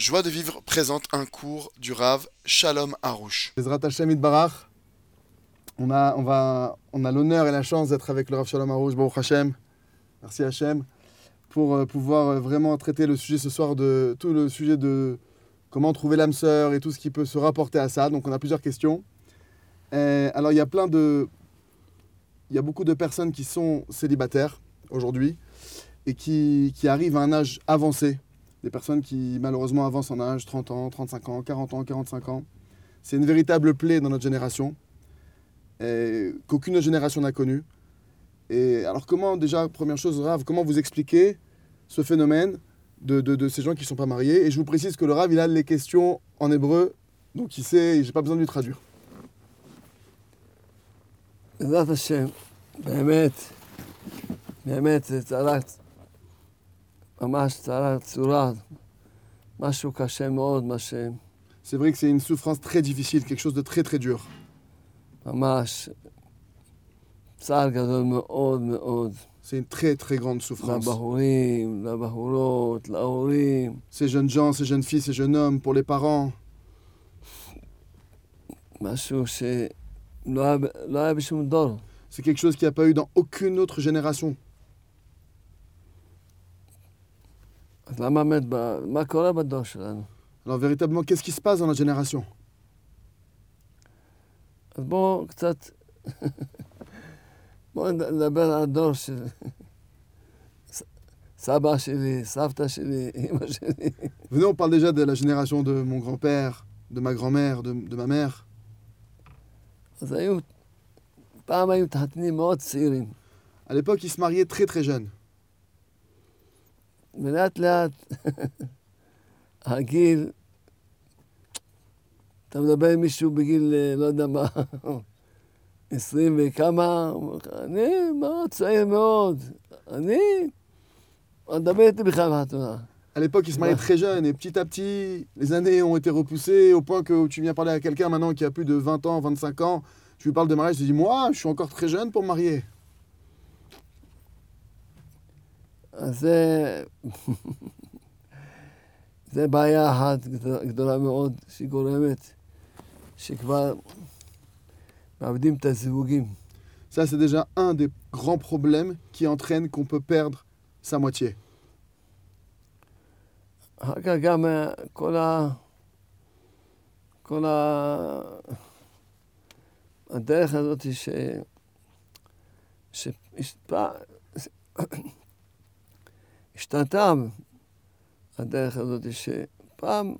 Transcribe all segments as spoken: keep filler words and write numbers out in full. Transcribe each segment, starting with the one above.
Joie de vivre présente un cours du Rav Shalom Harouche. Bezrat Hashem Yitbarach, on a, on va, on a l'honneur et la chance d'être avec le Rav Shalom Harouche, Baruch Hashem, merci Hashem, pour euh, pouvoir euh, vraiment traiter le sujet ce soir, de tout le sujet de comment trouver l'âme sœur et tout ce qui peut se rapporter à ça. Donc on a plusieurs questions. Et, alors il y a plein de... Il y a beaucoup de personnes qui sont célibataires aujourd'hui et qui, qui arrivent à un âge avancé. Des personnes qui malheureusement avancent en âge, trente ans, trente-cinq ans, quarante ans, quarante-cinq ans. C'est une véritable plaie dans notre génération, et qu'aucune autre génération n'a connue. Et alors comment, déjà, première chose, Rav, comment vous expliquez ce phénomène de, de, de ces gens qui ne sont pas mariés? Et je vous précise que le Rav, il a les questions en hébreu, donc il sait, et je n'ai pas besoin de lui traduire. בעזרת השם, באמת, באמת זה צרת, ממש צרת צורה, משהו קשה מאוד, מה ש... C'est vrai que c'est une souffrance très difficile, quelque chose de très très dur. ממש צער גדול מאוד מאוד. C'est une très très grande souffrance. לבחורים, לבחורות, להורים. Ces jeunes gens, ces jeunes filles, ces jeunes hommes, pour les parents. משהו שלא היה, לא היה בשום דור. C'est quelque chose qu'il n'y a pas eu dans aucune autre génération. אז למה באמת, ב- מה קורה בדור שלנו? Alors véritablement, qu'est-ce qui se passe dans notre génération? אז בואו קצת, בואו נדבר על הדור של ס- סבא שלי, סבתא שלי, אמא שלי. Venez, on parle déjà de la génération de mon grand-père, de ma grand-mère, de, de ma mère. אז היו, פעם היו מתחתנים מאוד צעירים. À l'époque, ils se mariaient très très jeunes. ולאט לאט הגיל, אתה מדבר עם מישהו בגיל, אה, לא יודע מה, עשרים וכמה, הוא אומר לך, אני מאוד צעיר מאוד, אני, הוא מדבר איתי בכלל בחתונה. À l'époque, ils se mariaient Ouais. très jeunes et petit à petit, les années ont été repoussées au point que tu viens parler à quelqu'un maintenant qui a plus de vingt ans, vingt-cinq ans, tu lui parles de mariage, tu dis moi, je suis encore très jeune pour me marier. אז זה, זה בעיה אחת גדולה- גדולה מאוד, שגורמת שכבר מאבדים את הזיווגים. Ça, c'est déjà un des grands problèmes qui entraîne qu'on peut perdre sa moitié. אחר כך גם אה, כל ה... כל ה... הדרך הזאת ש... ש... השפע... השתנתה הדרך הזאת שפעם,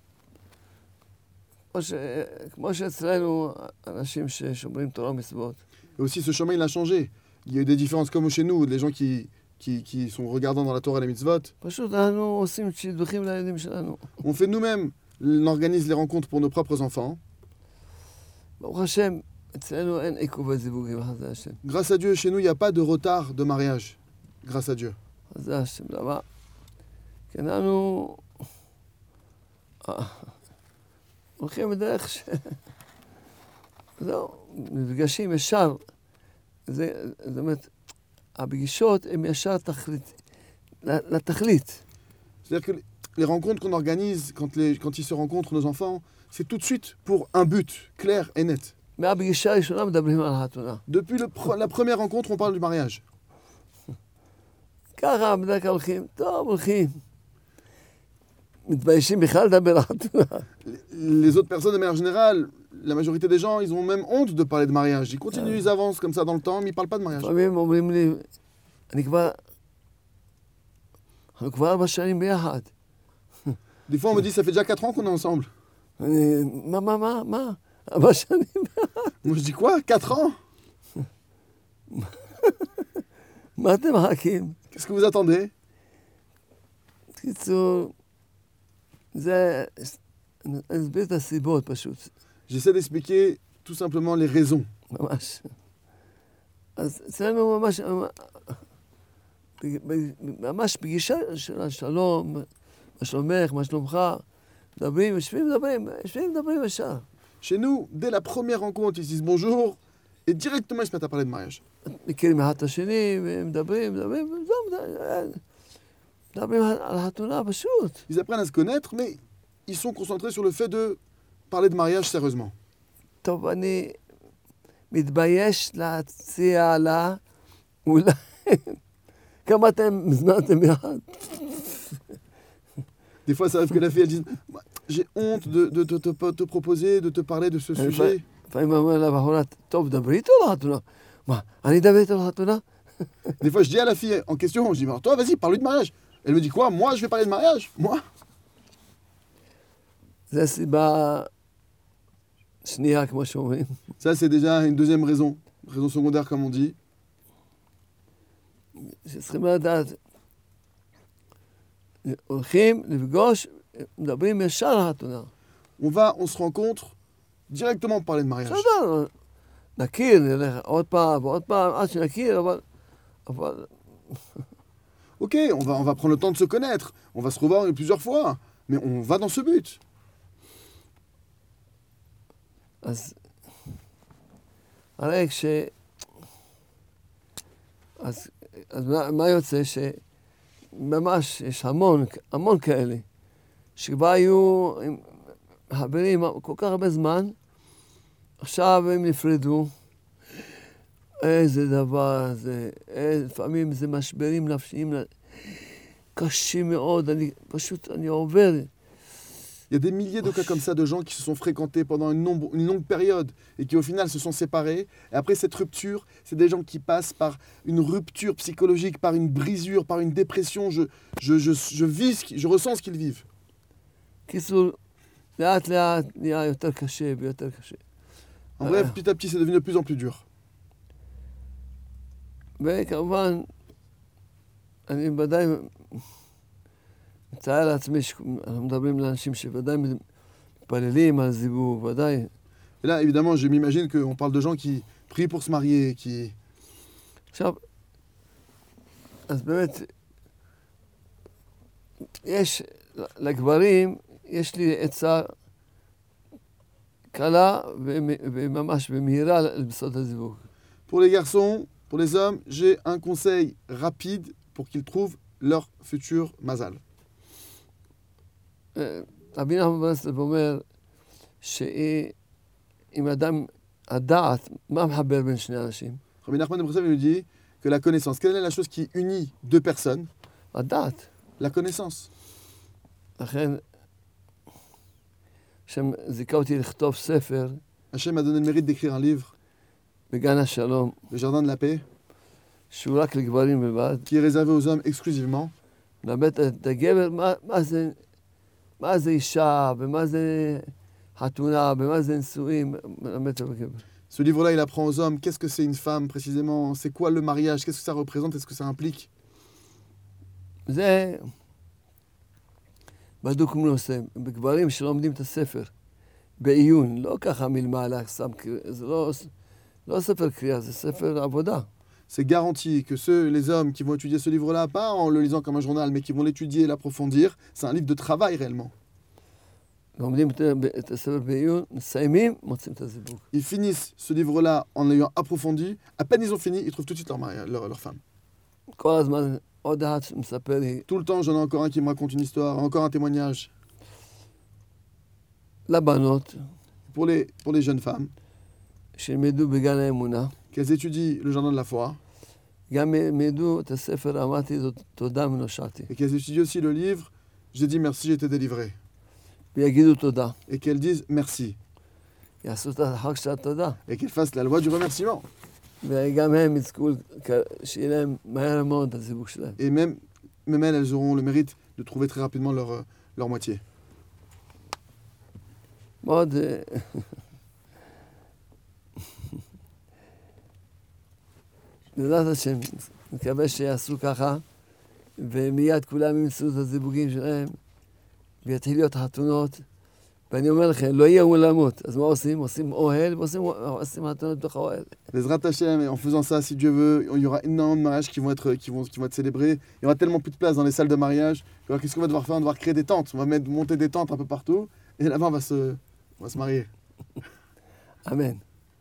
כמו, ש... כמו שאצלנו אנשים ששומרים תורה ומצוות, Et aussi, ce chemin, il a changé. Il y a eu des différences comme chez nous, les gens qui, qui, qui sont regardants dans la Torah et les mitzvot. פשוט אנחנו עושים שידוכים לילדים שלנו. On fait nous-mêmes, on organise les rencontres pour nos propres enfants. ברוך השם, אצלנו אין עיכוב הזיווגים, חסדי השם. Grâce à Dieu, chez nous, il n'y a pas de retard de mariage. Grâce à Dieu. חסדי השם, למה? כי אנחנו אה, הולכים בדרך ש... זהו, מפגשים ישר. זה, זאת אומרת, הפגישות הן ישר תכלית, לתכלית. C'est-à-dire que les rencontres qu'on organise, quand, les, quand ils se rencontrent, nos enfants, c'est tout de suite pour un but clair et net. מהפגישה הראשונה מדברים על החתונה. Depuis le pre- la première rencontre, on parle du mariage. ככה בדרך כלל הולכים, טוב, הולכים. מתביישים בכלל לדבר על חתונה. Les autres personnes, de manière générale, la majorité des gens, ils ont même honte de parler de mariage. Ils continuent, ils avancent comme ça dans le temps, mais ils ne parlent pas de mariage. לפעמים אומרים לי, אני כבר, אנחנו כבר ארבע שנים ביחד. Des fois, on me dit, ça fait déjà quatre ans qu'on est ensemble. אני, מה, מה, מה, מה? ארבע שנים ביחד? Moi, je dis quoi? Quatre ans? מה אתם מחכים? Qu'est-ce que vous attendez? בקיצור, זה, אני אסביר את הסיבות פשוט, J'essaie d'expliquer tout simplement les raisons. ממש. אז אצלנו ממש, ממש פגישה של השלום, מה שלומך, מה שלומך, מדברים, יושבים, מדברים, יושבים, מדברים ישר. Chez nous, dès la première rencontre, ils se disent bonjour et directement ils se mettent à parler de mariage. מכירים אחד את השני, ומדברים, מדברים, וזהו, מדברים על החתונה פשוט. Ils apprennent à se connaître, mais ils sont concentrés sur le fait de parler de mariage sérieusement. טוב, אני מתבייש להציע לה, אולי, כמה אתם הזמנתם יחד? Des fois, ça arrive que la fille, elle dise « J'ai honte de, de, de, de te, te proposer, de te parler de ce sujet. » לפעמים אומר לבחורה, טוב, דברי איתו לחתונה. מה, אני אדבר איתו לחתונה? Des fois, je dis à la fille en question, je dis « Toi, vas-y, parle-lui de mariage. » Elle me dit quoi? Moi, je vais parler de mariage? Moi? זה סיבה שנייה, כמו שאומרים. Ça, c'est déjà une deuxième raison. Raison secondaire, comme on dit. שצריכים לדעת, הולכים לפגוש, מדברים ישר על החתונה. On va, on se rencontre directement pour parler de mariage. בסדר, נכיר, נלך עוד פעם ועוד פעם, עד שנכיר, אבל... אבל... Ok, on va, on va prendre le temps de se connaître. On va se revoir plusieurs fois. Mais on va dans ce but. אז... הרי כש... אז, אז מה, מה יוצא? שממש יש המון, המון כאלה, שכבר היו עם חברים כל כך הרבה זמן, עכשיו הם נפרדו. איזה דבר זה, איזה, לפעמים זה משברים נפשיים קשים מאוד, אני פשוט, אני עובר. Il y a des milliers de cas comme ça de gens qui se sont fréquentés pendant une, nombre, une longue période et qui au final se sont séparés. Et après cette rupture, c'est des gens qui passent par une rupture psychologique, par une brisure, par une dépression. Je, je, je, je vis, ce qui, je ressens ce qu'ils vivent. קיצור, לאט לאט נהיה יותר קשה ויותר קשה. En bref, petit à petit, c'est devenu de plus en plus dur. וכמובן, אני ודאי מצטער לעצמי שאנחנו מדברים לאנשים שוודאי מתפללים על זיווג, ודאי. Et là, évidemment, je m'imagine qu'on parle de gens qui prient pour se marier, qui... עכשיו, אז באמת, יש לגברים, יש לי עצה קלה וממש במהירה לבסוד הזיווג. Pour les garçons, pour les hommes, j'ai un conseil rapide pour qu'ils trouvent leur futur mazal. רבי נחמן ברסלב אומר שאם אדם, הדעת, מה מחבר בין שני אנשים? Rabbi Nachman de Breslev nous dit que la connaissance, quelle est la chose qui unit deux personnes? הדעת. La connaissance. לכן, השם זיכה אותי לכתוב ספר Hachem m'a donné le mérite d'écrire un livre, בגן השלום, Le Jardin de la Paix, שהוא רק לגברים בלבד. qui est réservé aux hommes exclusivement. מלמד את הגבר מה, מה זה, מה זה אישה, ומה זה חתונה, ומה זה נישואים, מלמד את הגבר. Ce livre-là, il apprend aux hommes qu'est-ce que c'est une femme précisément, c'est quoi le mariage, qu'est-ce que ça représente, est-ce que ça implique. זה בדוק מנושא, בגברים שלומדים את הספר, בעיון, לא ככה מלמעלה, סתם, זה לא, לא ספר קריאה, זה ספר עבודה. C'est garanti que ceux, les hommes qui vont étudier ce livre-là, pas en le lisant comme un journal, mais qui vont l'étudier et l'approfondir, c'est un livre de travail réellement. לומדים את הספר בעיון, מסיימים, מוצאים את הזיווג. Ils finissent ce livre-là en l'ayant approfondi, à peine ils ont fini, ils trouvent tout de suite leur, mari, leur, leur femme. כל הזמן עוד אחד מספר לי. Tout le temps, j'en ai encore un qui me raconte une histoire, encore un témoignage. לבנות, Pour les, pour les jeunes femmes, שילמדו בגן האמונה, qu'elles étudient le Jardin de la foi, גם ילמדו את הספר, אמרתי זאת, תודה ונושעתי. et qu'elles étudient aussi le livre, j'ai dit merci, j'ai été délivré. ויגידו תודה. Et qu'elles disent merci. יעשו את החג של התודה. Et qu'elles fassent la loi du remerciement. וגם הם יזכו, שיהיה להם מהר מאוד את הזיווג שלהם. Et même, même elles, elles auront le mérite de trouver très rapidement leur, leur moitié. מאוד... בעזרת השם, מקווה שיעשו ככה, ומיד כולם ימצאו את הזיווגים שלהם, ויתחיל להיות חתונות. ואני אומר לכם, לא יהיה אולמות. אז מה עושים? עושים אוהל, ועושים עושים חתונות בתוך האוהל. Bezrat Hashem, et en faisant ça, si Dieu veut, il y aura énormément de mariages qui vont être, qui vont, qui vont être célébrés. Il y aura tellement plus de place dans les salles de mariage. Alors qu'est-ce qu'on va devoir faire? On va devoir créer des tentes. On va mettre, monter des tentes un peu partout. Et là-bas, on va se, on va se marier. אמן.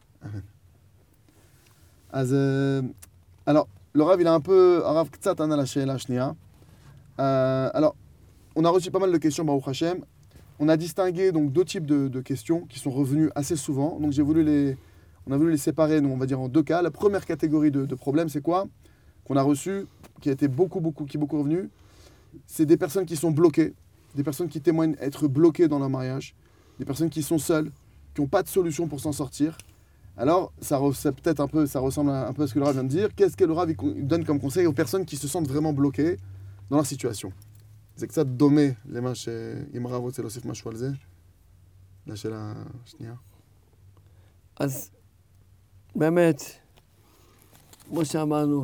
אז, euh, alors, le Rav, il a un peu... Rav Ktsat Ana la Sheela Shnia. Euh, alors, on a reçu pas mal de questions, Baruch Hashem. on a distingué donc deux types de, de questions qui sont revenues assez souvent. Donc j'ai voulu les, on a voulu les séparer, nous, on va dire en deux cas. La première catégorie de, de problèmes, c'est quoi? Qu'on a reçu, qui a été beaucoup, beaucoup, qui est beaucoup revenu. C'est des personnes qui sont bloquées, des personnes qui témoignent être bloquées dans leur mariage, des personnes qui sont seules, qui n'ont pas de solution pour s'en sortir. Alors, ça, ça peut-être un peu, ça ressemble un peu à ce que le Rav vient de dire. Qu'est-ce que le Rav il donne comme conseil aux personnes qui se sentent vraiment bloquées dans leur situation? C'est que ça דומה למה שאם הרב רוצה להוסיף משהו על זה, לשאלה השנייה. אז באמת, כמו שאמרנו,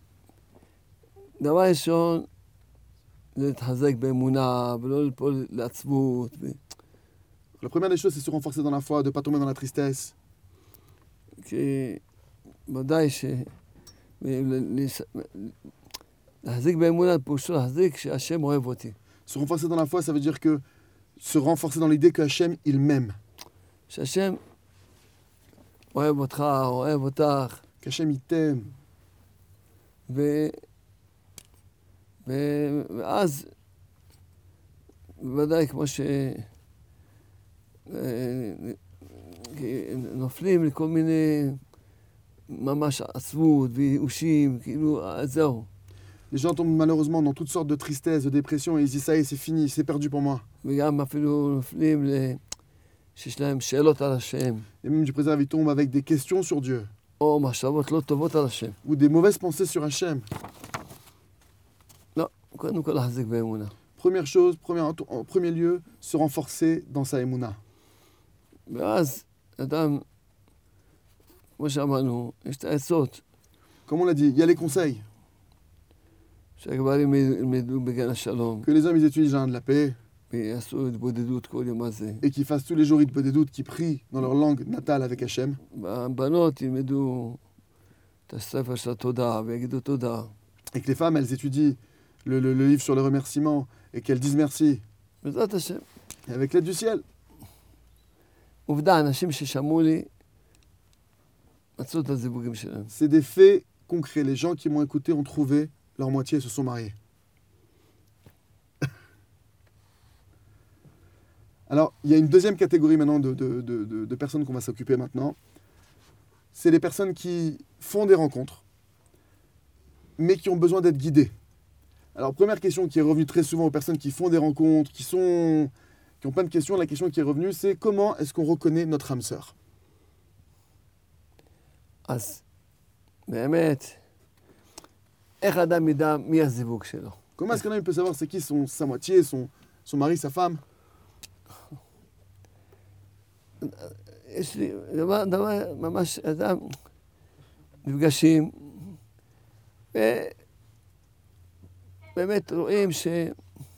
שדבר ראשון זה להתחזק באמונה ולא ליפול לעצבות. La première des choses, c'est se renforcer dans la foi, de ne pas tomber dans la tristesse. כי ודאי ש... להחזיק באמונה פירושו להחזיק שהשם אוהב אותי. Se renforcer dans la foi, ça veut dire que se renforcer dans l'idée que Hachem, il m'aime. שהשם אוהב אותך, אוהב אותך. Qu'Hachem, il t'aime. ו... ו... ואז, בוודאי כמו ש... נופלים לכל מיני ממש עצבות וייאושים, כאילו, זהו. Les gens tombent malheureusement dans toutes sortes de tristesse, de dépression, et ils disent ça y est, c'est fini, c'est perdu pour moi. וגם אפילו נופלים שיש להם שאלות על השם. Et même du préserve, ils tombent avec des questions sur Dieu. או מחשבות לא טובות על השם. Ou des mauvaises pensées sur Hachem. לא, קודם כל להחזיק באמונה. Première chose, premier, en premier lieu, se renforcer dans sa émouna. ואז אדם, כמו שאמרנו, יש את העצות. Comme on l'a dit, il y a les conseils. שהגברים ילמדו בגן השלום. Que les hommes, ils étudient le jardin de la paix. ויעשו התבודדות כל יום הזה. Et qu'ils fassent tous les jours des doutes, qui prient dans leur langue natale avec Hachem. הבנות ילמדו את הספר של התודה ויגידו תודה. Et que les femmes, elles étudient le, le, le livre sur le remerciement et qu'elles disent merci. בעזרת השם. Et avec l'aide du ciel. עובדה, אנשים ששמעו לי, מצאו את הזיווגים שלהם. C'est des faits concrets. Les gens qui m'ont écouté ont trouvé leur moitié et se sont mariés. Alors, il y a une deuxième catégorie maintenant de, de, de, de, de personnes qu'on va s'occuper maintenant. C'est les personnes qui font des rencontres, mais qui ont besoin d'être guidées. Alors, première question qui est revenue très souvent aux personnes qui font des rencontres, qui sont, qui ont plein de questions, la question qui est revenue, c'est comment est-ce qu'on reconnaît notre âme sœur? אז באמת, איך אדם ידע מי הזיווג שלו? Comment est-ce qu'un homme peut savoir c'est qui son, sa moitié, son, son mari, sa femme? יש לי דבר, דבר ממש, אדם נפגשים, ובאמת רואים שאין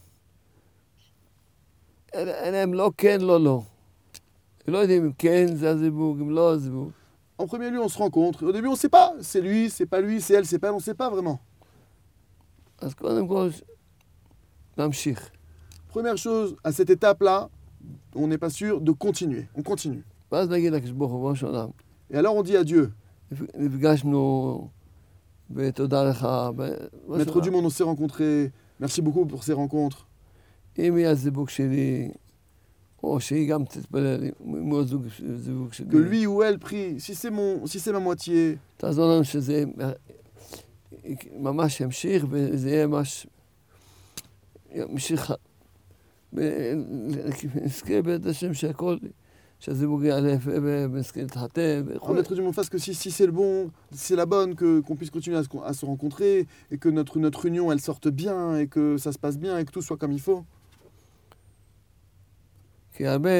להם לא כן, לא לא. לא יודעים אם כן זה הזיווג, אם לא הזיווג. En premier lieu, on se rencontre. Au début, on ne sait pas. C'est lui, c'est pas lui, c'est elle, c'est pas elle, on ne sait pas vraiment. אז קודם כל, להמשיך. Première chose, à cette étape-là, on n'est pas sûr de continuer. On continue. ואז נגיד לקדוש ברוך הוא, בראש העולם, Et alors, on dit à Dieu, נפגשנו ותודה לך. Maître du monde, on s'est rencontrés. Merci beaucoup pour ces rencontres. אם יהיה הזיווג שלי, או שהיא גם תתפלל, אם הוא הזיווג שלי. Que lui ou elle prie. Si c'est mon, si c'est ma moitié, תעזור לנו שזה ממש ימשיך, וזה יהיה ממש ימשיך. נזכה בעזרת השם שהכל, שהזיווג יעלה ונזכה להתחתן. en Maître du monde fasse que si, si c'est le bon, si c'est la bonne, que, qu'on puisse continuer à se, à se rencontrer, et que notre, notre union, elle sorte bien, et que ça se passe bien, et que tout soit comme il faut. כי הרבה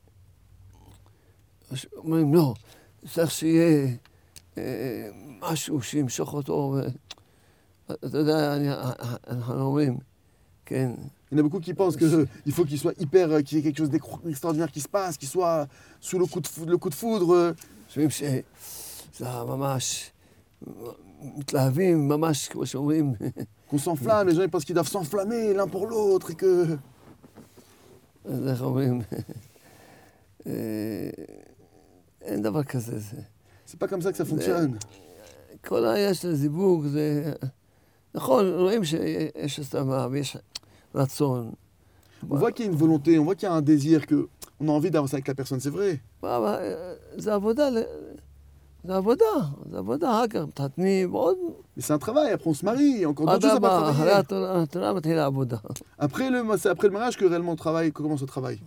אומרים, לא, צריך שיהיה משהו שימשוך אותו. אתה יודע, אנחנו אומרים, כן. Il y en a beaucoup qui pensent qu'il faut qu'il soit hyper, qu'il y ait quelque chose d'extraordinaire qui se passe, qu'il soit sous le coup de foudre. Le coup de foudre. חושבים שזה ממש מתלהבים, ממש כמו שאומרים. Qu'on s'enflamme, les gens ils pensent qu'ils doivent s'enflammer l'un pour l'autre et que... אז איך אומרים? אין דבר כזה. C'est pas comme ça que ça fonctionne. כל העניין של הזיווג זה... נכון, רואים שיש הסכמה ויש רצון. On voit qu'il y a une volonté, on voit qu'il y a un désir, qu'on a envie d'avancer avec la personne, c'est vrai. מה, מה, זה עבודה, ל- זה עבודה, זה עבודה, אחר כך מתחתנים, ועוד, Mais c'est un travail, après on se marie, il y a encore d'autres choses à אדרבה, אחרי travailler. התורה התורה מתחילה העבודה. Après le, c'est après le mariage que réellement on travaille, que commence le travail.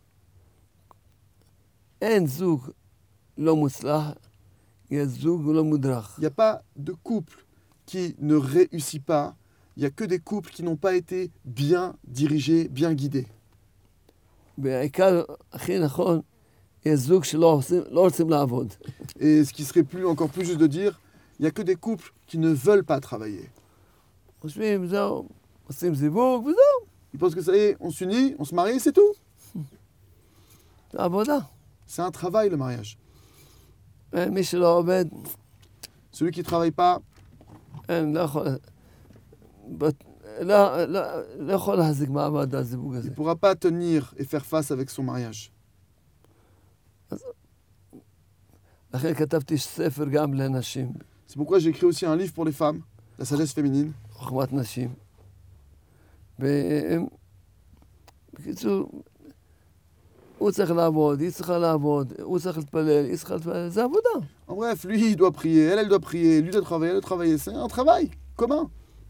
אין זוג לא מוצלח, יש זוג לא מודרך. Il n'y a pas de couple qui ne réussit pas, il n'y a que des couples qui n'ont pas été bien dirigés, bien guidés. בעיקר, הכי נכון, יש זוג שלא עושים, לא רוצים לעבוד. Et ce qui serait plus, encore plus juste de dire, il n'y a que des couples qui ne veulent pas travailler. חושבים, זהו, עושים זיווג וזהו, Ils pensent que ça y est, on s'unit, on se marie, c'est tout. זה עבודה. C'est un travail le mariage. מי שלא עובד, Celui qui ne travaille pas, אין, לא יכול, בת- לא, לא, לא יכול להחזיק מעמד הזיווג il הזה. ne pourra pas tenir et faire face avec son mariage. לכן כתבתי ספר גם לנשים, C'est pourquoi j'ai écrit aussi un livre pour les femmes, la sagesse féminine. חוכמת נשים. והם, בקיצור, הוא צריך לעבוד, היא צריכה לעבוד, הוא צריך להתפלל, היא צריכה להתפלל, זה עבודה. En bref, lui, il doit prier, elle, elle doit prier, lui doit travailler, elle doit travailler. C'est un travail commun.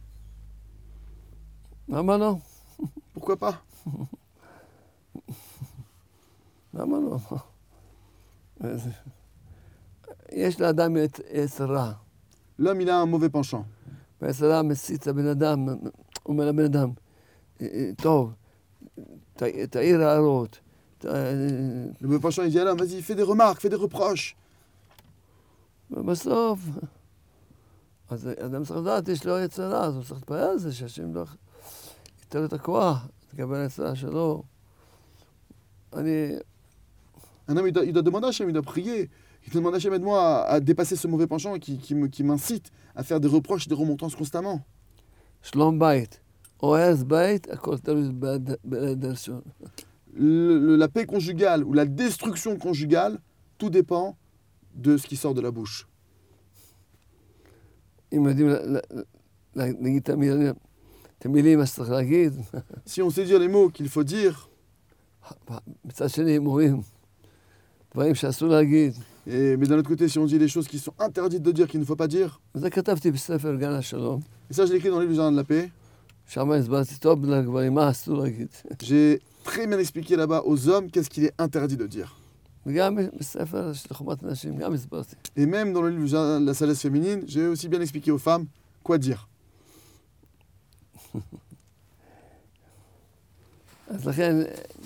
למה לא? Pourquoi pas? למה לא? אז- יש לאדם את יצר רע, L'homme, il a un mauvais penchant. ויצר רע מסית את הבן אדם, הוא אומר לבן אדם, "אה, אה, טוב, ת- תעיר הערות, ת- Le mauvais penchant, il dit à l'homme, vas-y, fais des remarques, fais des reproches. ובסוף, אז האדם צריך לדעת, יש לו יצר רע, אז הוא צריך להתפלל על זה, שהשם לא ייתן לו את הכוח, לקבל את היצר רע שלו. אני, Un homme, il doit, il doit demander à Hachem, il doit prier. Il doit demander à Hachem, aide-moi à, à dépasser ce mauvais penchant qui, qui me- qui m'incite à faire des reproches et des remontrances constamment. שלום בית, או הרס בית, הכל תלוי ביד- ביד הראשון. Le- le- la paix conjugale ou la destruction conjugale, tout dépend de ce qui sort de la bouche. אם יודעים ל- ל- להגיד את המילים, את המילים, מה שצריך להגיד, Si on sait dire les mots qu'il faut dire, מצד שני הם אומרים דברים שאסור להגיד. et, mais d'un autre côté, si on dit les choses qui sont interdites de dire, qu'il ne faut pas dire, וזה כתבתי בספר גן השלום, et ça je l'ai écrit dans le livre du Jardin de la paix, שם הסברתי טוב לגברים מה אסור להגיד. j'ai très bien expliqué là-bas aux hommes qu'est-ce qu'il est interdit de dire. וגם בספר של חומת נשים, גם הסברתי. Et même dans le livre du Jardin de la sagesse féminine, j'ai aussi bien expliqué aux femmes quoi dire. אז לכן,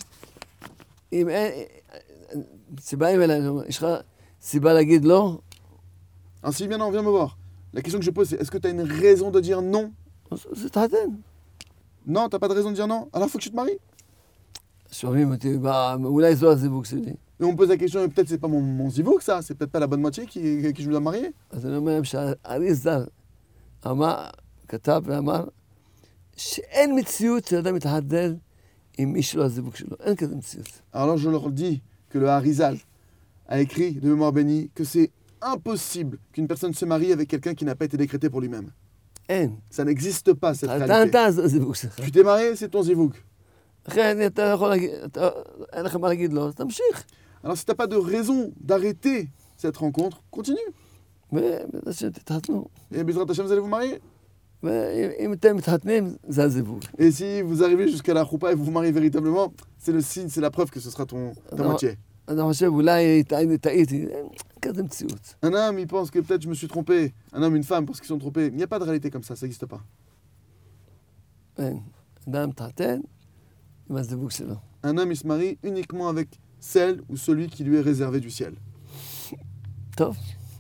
אם אין, שבאים אלינו, יש לך סיבה להגיד לא? Ainsi, bien non, viens me voir. La question que je pose, c'est est-ce que tu as une raison de dire non? אז זה תחתן. Non, t'as pas de raison de dire non? Alors faut que tu te maries. שואלים אותי, "מה, אולי זו הזיווג שלי." Et on me pose la question, et peut-être c'est pas mon, mon zivouk ça, c'est peut-être pas la bonne moitié qui, qui je me dois marier. אז אני אומר להם שהאריזל אמר, כתב ואמר, שאין מציאות שאדם מתחתן עם מי שלא הזיווג שלו. אין כזה מציאות. Alors là, je leur dis que le Harizal a écrit de mémoire bénie que c'est impossible qu'une personne se marie avec quelqu'un qui n'a pas été décrété pour lui-même. אין. Ça n'existe pas cette התחתנת, réalité. זה הזיווג שלך. Tu t'es marié, c'est ton zivouk. לכן אתה לא יכול להגיד, אתה- אין לך מה להגיד לו, אז תמשיך. Alors si t'as pas de raison d'arrêter cette rencontre, continue. ובעזרת השם תתחתנו. Et Bezrat Hashem, vous allez vous marier. ואם אתם מתחתנים, זה הזיווג. Et si vous arrivez jusqu'à la choupa et vous vous mariez véritablement, c'est le signe, c'est la preuve que ce sera ton, ta Non. moitié. אני חושב, אולי טעיתי, טעיתי, אין כזה מציאות. Un homme, il pense que peut-être je me suis trompé. Un homme, une femme, parce qu'ils sont trompés. Il n'y a pas de réalité comme ça, ça n'existe pas. אין. אדם מתחתן עם הזיווג שלו. Un homme, il se marie uniquement avec celle ou celui qui lui est réservé du ciel. טוב.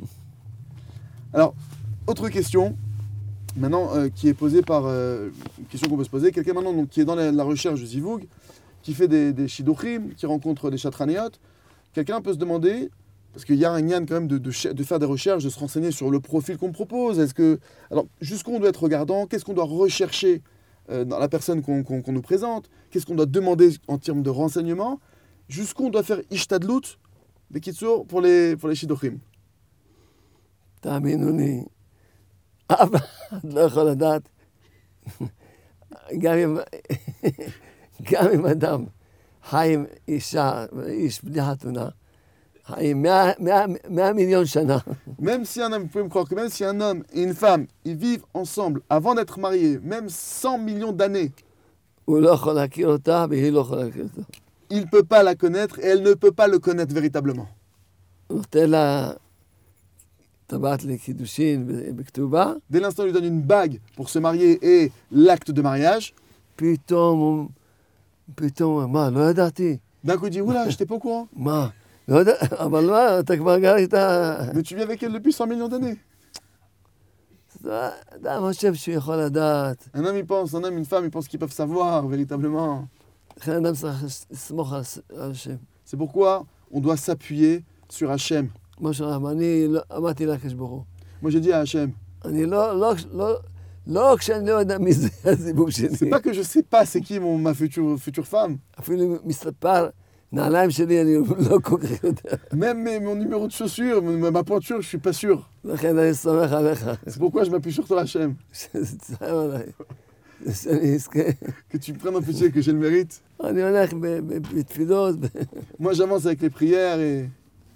Alors, autre question, maintenant, euh, qui est posée par... euh, une question qu'on peut se poser. Quelqu'un maintenant donc, qui est dans la, la recherche du zivoug, qui fait des, des shidduchim, qui rencontre des chatranéot. Quelqu'un peut se demander, parce qu'il y a un yann quand même de, de, ch- de faire des recherches, de se renseigner sur le profil qu'on propose. Est-ce que... Alors, jusqu'où on doit être regardant? Qu'est-ce qu'on doit rechercher euh, dans la personne qu'on qu'on- qu'on nous présente? Qu'est-ce qu'on doit demander en termes de renseignements? Jusqu'où on doit faire ishtadlut, bekitsour, pour les, pour les shidduchim? תאמינו לי, אף אחד לא יכול לדעת, גם אם, גם אם אדם חי עם אישה, איש בלי חתונה, חי עם מאה מיליון שנה. Même si un homme, vous pouvez me croire que même si un homme et une femme, ils vivent ensemble avant d'être mariés, même cent millions d'années, הוא לא יכול להכיר אותה והיא לא יכולה להכיר אותו. il ne peut pas la connaître et elle ne peut pas le connaître véritablement. הוא נותן לה טבעת לקידושין בכתובה, Dès l'instant où il lui donne une bague pour se marier et l'acte de mariage, פתאום הוא, פתאום, מה, לא ידעתי? d'un coup il dit, oula, j'étais pas au courant. מה? לא יודע, אבל מה, אתה כבר גר איתה... Mais tu vis avec elle depuis cent millions d'années. אדם חושב שהוא יכול לדעת. Un homme, il pense, un homme, une femme, ils pensent qu'ils peuvent savoir véritablement. לכן אדם צריך לסמוך על על השם. C'est pourquoi on doit s'appuyer sur Hachem. כמו שאמרתי, אני לא- אמרתי לקדוש ברוך הוא. Moi j'ai dit à Hachem, אני לא, לא, לא, לא כשאני לא יודע מי זה הזיבוב c'est שלי. pas que je sais pas c'est qui mon, ma future, future femme. אפילו אם מספר נעליים שלי, אני לא כל כך יודע. Même mes- mon numéro de chaussure, ma, ma pointure, je suis pas sûr. לכן אני סומך עליך. C'est pourquoi je m'appuie sur toi Hachem. שזה צער עליי. שאני אזכה. Que tu me prennes en pitié, que j'ai le mérite. אני הולך ב- ב- בתפילות. ב- Moi j'avance avec les prières et...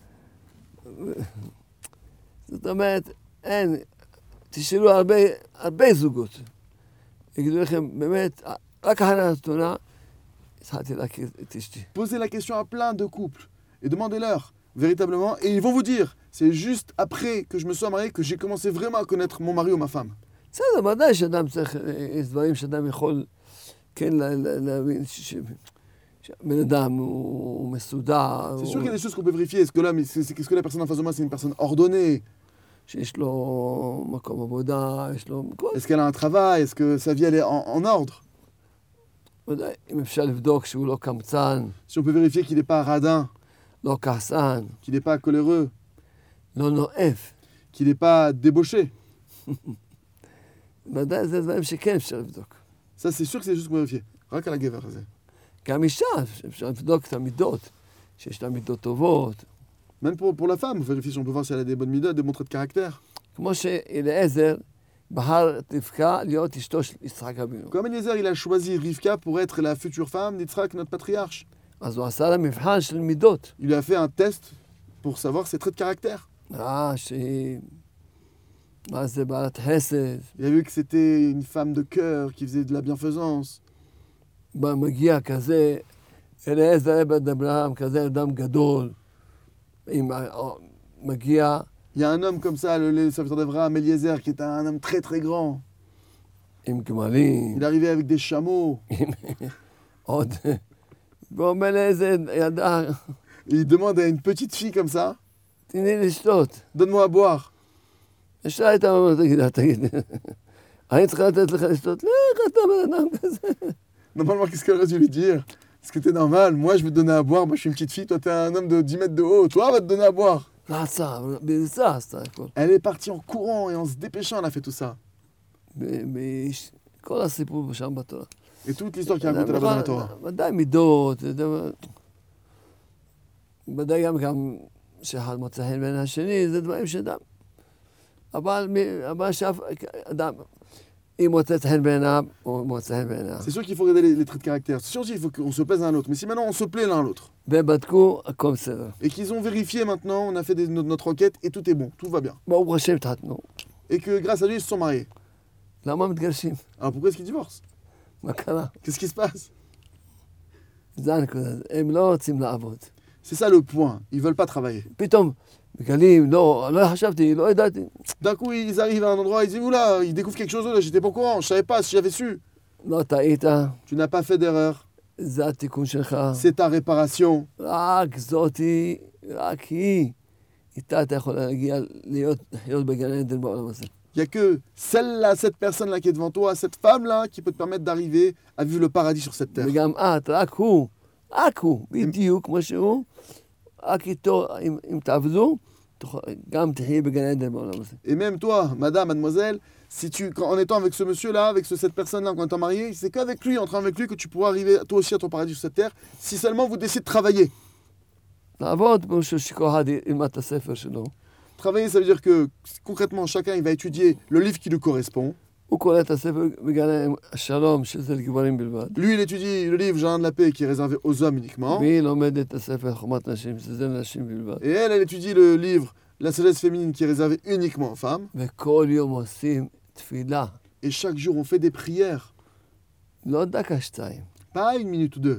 זאת אומרת, אין, תשאלו הרבה, הרבה זוגות. יגידו לכם, באמת, רק אחרי החתונה, התחלתי להכיר את אשתי. Posez la question à plein de couples et demandez-leur véritablement et ils vont vous dire, c'est juste après que je me sois marié que j'ai commencé vraiment à connaître mon mari ou ma femme. בסדר, ודאי שאדם צריך, יש דברים שאדם יכול כן לה- לה- להבין ש- ש- שהבן אדם הוא הוא מסודר, C'est sûr הוא- qu'il y a des choses qu'on peut vérifier. Est-ce que, là, mais c'est, c'est- est-ce que la personne en face de moi, c'est une personne ordonnée? שיש לו מקום עבודה, יש לו... כל- Est-ce qu'elle a un travail? Est-ce que sa vie, elle est en, en ordre? ודאי, אם אפשר לבדוק שהוא לא קמצן, Si on peut vérifier qu'il n'est pas radin, לא כעסן, qu'il n'est pas coléreux, לא נואף. qu'il n'est pas débauché. ודאי, זה דברים שכן אפשר לבדוק. Ça, c'est sûr que c'est juste qu'on peut vérifier. רק על הגבר הזה. גם אישה, אפשר לבדוק את המידות, שיש לה מידות טובות. Même pour, pour la femme, on vérifie si on peut voir si elle a des bonnes midotes, des bons traits de caractère. כמו שאליעזר בחר את רבקה להיות אשתו של יצחק אבינו. Comme Eliezer, il a choisi Rivka pour être la future femme d'Yitzhak, notre patriarche. אז הוא עשה לה מבחן של מידות. Il lui a fait un test pour savoir ses traits de caractère. ראה שהיא... מה זה בעלת חסד, Il a vu que c'était une femme de cœur qui faisait de la bienfaisance. מגיע כזה, אליעזר עבד אברהם, כזה אדם גדול, עם ה- מגיע, Il y a un homme comme ça, le, le serviteur d'Abraham, Eliezer, qui est un homme très très grand. עם גמלים, Il arrivait avec des chameaux. עוד, ואומר לאיזה ילדה, Et il demande à une petite fille comme ça, תני לי לשתות. donne-moi à boire. ישר הייתה אומרת, תגיד, תגיד, אני צריכה לתת לך לשתות? לך, אתה בן אדם כזה. Normalement, qu'est-ce qu'elle aurait dû lui dire? Est-ce que t'es normal? Moi, je vais te donner à boire. Moi, je suis une petite fille. Toi, t'es un homme de dix mètres de haut. Toi, on va te donner à boire. לא עצה, בריצה עשתה הכל. Elle est partie en courant et en se dépêchant, elle a fait tout ça. כל הסיפור שם בתורה. Et toute l'histoire qui est racontée là-bas dans la Torah. ודאי מידות, ודאי גם גם שאחד מוצא חן בין השני, זה דברים שאדם. אבל מ- אבל שאף אדם, אם מוצא חן בעיניו, הוא מוצא חן בעיניו. C'est sûr qu'il faut regarder les, les traits de caractère. C'est sûr aussi qu'il faut qu'on se plaise l'un à l'autre. Mais si maintenant on se plaît l'un à l'autre ובדקו, הכל בסדר. et qu'ils ont vérifié maintenant, on a fait des- notre, notre enquête et tout est bon, tout va bien. ברוך השם התחתנו. Et que grâce à Dieu, ils se sont mariés. למה מתגרשים? Alors pourquoi est-ce qu'ils divorcent? מה קרה? Qu'est-ce qui se passe? זה הנקודה. הם לא רוצים לעבוד. C'est ça le point. Ils veulent pas travailler. פתאום מגלים, לא, לא חשבתי, לא ידעתי. D'un coup, ils arrivent à un endroit, ils disent oula, ils découvrent quelque chose, là, j'étais pas au courant, je savais pas si j'avais su. לא טעית, Tu n'as pas fait d'erreur. זה התיקון שלך. C'est ta réparation. רק זאתי, רק היא, איתה אתה יכול להגיע להיות, לחיות בגן עדן בעולם הזה. Il n'y a que celle-là, cette personne-là qui est devant toi, cette femme-là, qui peut te permettre d'arriver à vivre le paradis sur cette terre. וגם את, רק הוא, רק הוא, בדיוק כמו שהוא, רק איתו, אם, אם תעבדו, תוכל- גם תחיי בגן עדן בעולם הזה. Et même toi, madame, mademoiselle, si tu, quand- en étant avec ce monsieur-là, avec ce- cette personne-là, quand étant marié, c'est qu'avec lui, en train avec lui, que tu pourras arriver toi aussi à ton paradis sur cette terre, si seulement vous décidez de travailler. לעבוד, כמו שכל אחד ילמד את הספר שלו, Travailler, ça veut dire que concrètement, chacun il va étudier le livre qui lui correspond. הוא קורא את הספר בגן השלום, שזה לגברים בלבד. Lui, il étudie le livre Jardin de la paix qui est réservé aux hommes uniquement. והיא לומדת את הספר חוכמת נשים, שזה לנשים בלבד. Et elle, elle étudie le livre La sagesse féminine qui est réservé uniquement aux femmes. וכל יום עושים תפילה. Et chaque jour, on fait des prières. לא דקה שתיים. Pas une minute ou deux.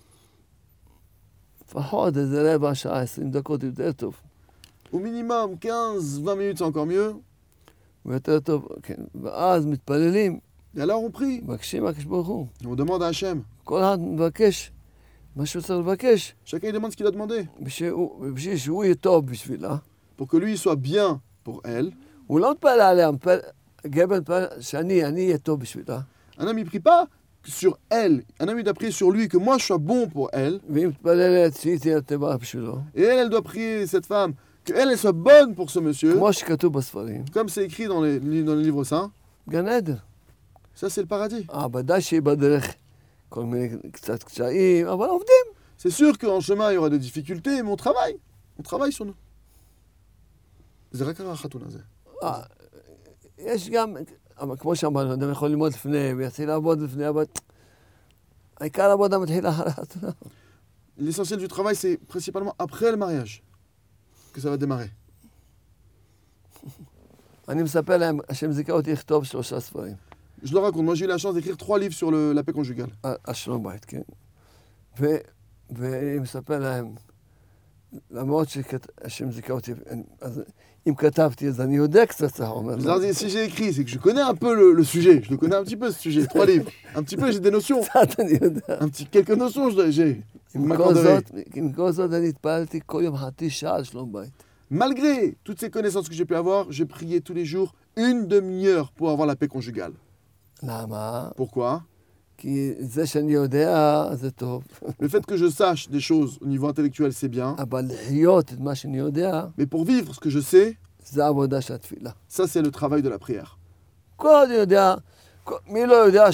לפחות איזה רבע שעה, עשרים דקות יותר טוב. Au minimum, quinze vingt minutes, c'est encore mieux. ויותר טוב, כן. ואז מתפללים, Et alors, on prie. מבקשים מהקדוש ברוך הוא. On demande à Hachem. כל אחד מבקש מה שהוא צריך לבקש, Chacun, il demande ce qu'il a demandé. בשביל בשביל שהוא יהיה טוב בשבילה. Pour que lui, il soit bien pour elle. הוא לא מתפלל עליה, מתפלל, גבר מתפלל שאני, אני אהיה טוב בשבילה. Un homme, il prie pas sur elle. Un homme, il doit prier sur lui, que moi, je sois bon pour elle. והיא מתפללת שהיא תהיה טובה בשבילו. Et elle, elle doit prier, cette femme, qu'elle, elle soit bonne pour ce monsieur. כמו שכתוב בספרים. Comme c'est écrit dans les, dans les livres saints. גן עדן. Ça, c'est le paradis. אה, ודאי שהיא בדרך כל מיני קצת קשיים, אבל עובדים. C'est sûr qu'en chemin, il y aura des difficultés, mais on travaille. On travaille sur nous. זה רק החתונה הזה. אה, יש גם, אבל כמו שאמרנו, אדם יכול ללמוד לפני, ויתחיל לעבוד לפני, אבל העיקר העבודה מתחילה אחרי החתונה. L'essentiel du travail, c'est principalement après le mariage que ça va démarrer. אני מספר להם, השם זיכה אותי לכתוב שלושה ספרים. Je leur raconte, moi j'ai eu la chance d'écrire trois livres sur le, la paix conjugale. על שלום בית, כן. ו- ואני מספר להם, למרות שהשם זיכה אותי, אז אם כתבתי, אז אני יודע קצת, הוא אומר. Je leur dis, si j'ai écrit, c'est que je connais un peu le, le sujet. Je le connais un petit peu ce sujet, trois livres. Un petit peu, j'ai des notions. קצת אני יודע. Un petit, quelques notions, je- j'ai. Vous עם כל m'accorderez. זאת, עם כל זאת אני התפללתי כל יום חצי שעה על שלום בית. Malgré toutes ces connaissances que j'ai pu avoir, j'ai prié tous les jours une demi-heure pour avoir la paix conjugale. למה? Pourquoi? כי זה שאני יודע, זה טוב. Le fait que je sache des choses au niveau intellectuel, c'est bien. אבל לחיות את מה שאני יודע, Mais pour vivre ce que je sais, זה העבודה של התפילה. ça c'est le travail de la prière. כל עוד אני יודע, כל- מי לא יודע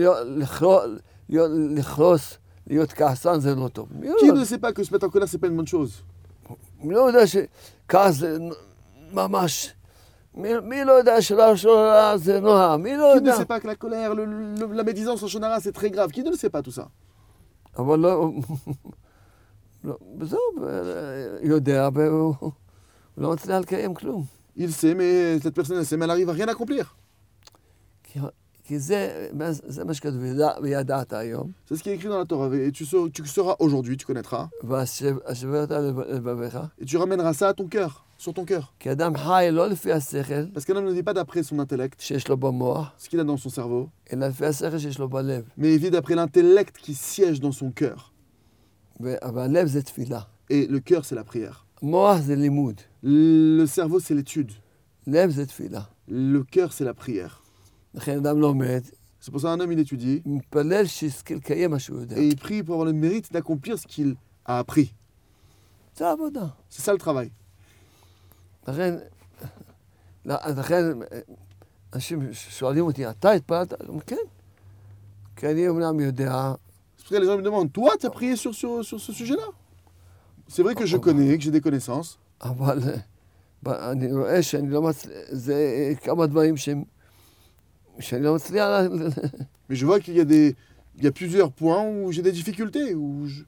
לכרוס, להיות כעסן זה לא טוב. מי Qui לא- ne sait pas que se mettre en colère, c'est pas une bonne chose? מי לא יודע שכעס זה ממש... מי מי לא יודע שלשון הרע זה נורא? מי לא Qui ne יודע? sait pas que la colère, le- le- la médisance en shonara, c'est très grave? Qui ne le sait pas tout ça? אבל לא... לא, וזהו, יודע, והוא הוא לא מצליח לקיים כלום. Il sait, mais cette personne, elle sait, mais elle arrive à rien accomplir. כי- כי זה זה מה שכתוב, "וידע- וידעת היום, C'est ce qui est écrit dans la Torah. Et tu sauras, tu sauras aujourd'hui, tu connaîtras. והשברת לבביך, Et tu ramèneras ça à ton cœur, sur ton cœur. כי אדם חי לא לפי השכל Parce qu'un homme ne vit pas d'après son intellect, שיש לו במוח, ce qu'il a dans son cerveau, אלא לפי השכל שיש לו בלב. mais il vit d'après l'intellect qui siège dans son cœur. ו- אבל הלב זה תפילה. Et le cœur, c'est la prière. מוח זה לימוד. Le cerveau, c'est l'étude. לב זה תפילה. Le cœur, c'est la prière. לכן אדם לומד, C'est pour ça qu'un homme, il étudie מתפלל שיזכה לקיים מה שהוא יודע. et il prie pour avoir le mérite d'accomplir ce qu'il a appris. זה העבודה. C'est ça le travail. לכן, לכן אנשים שואלים אותי, אתה התפללת? כן. כי אני אומנם יודע, C'est pour ça que les gens me demandent, toi, tu as prié sur, sur, sur ce sujet-là? C'est vrai que je connais, que j'ai des connaissances, אבל ב- אני רואה שאני לא מצליח, זה כמה דברים שהם, שאני לא מצליח, ל- mais je vois qu'il y a des, il y a plusieurs points où j'ai des difficultés, où je-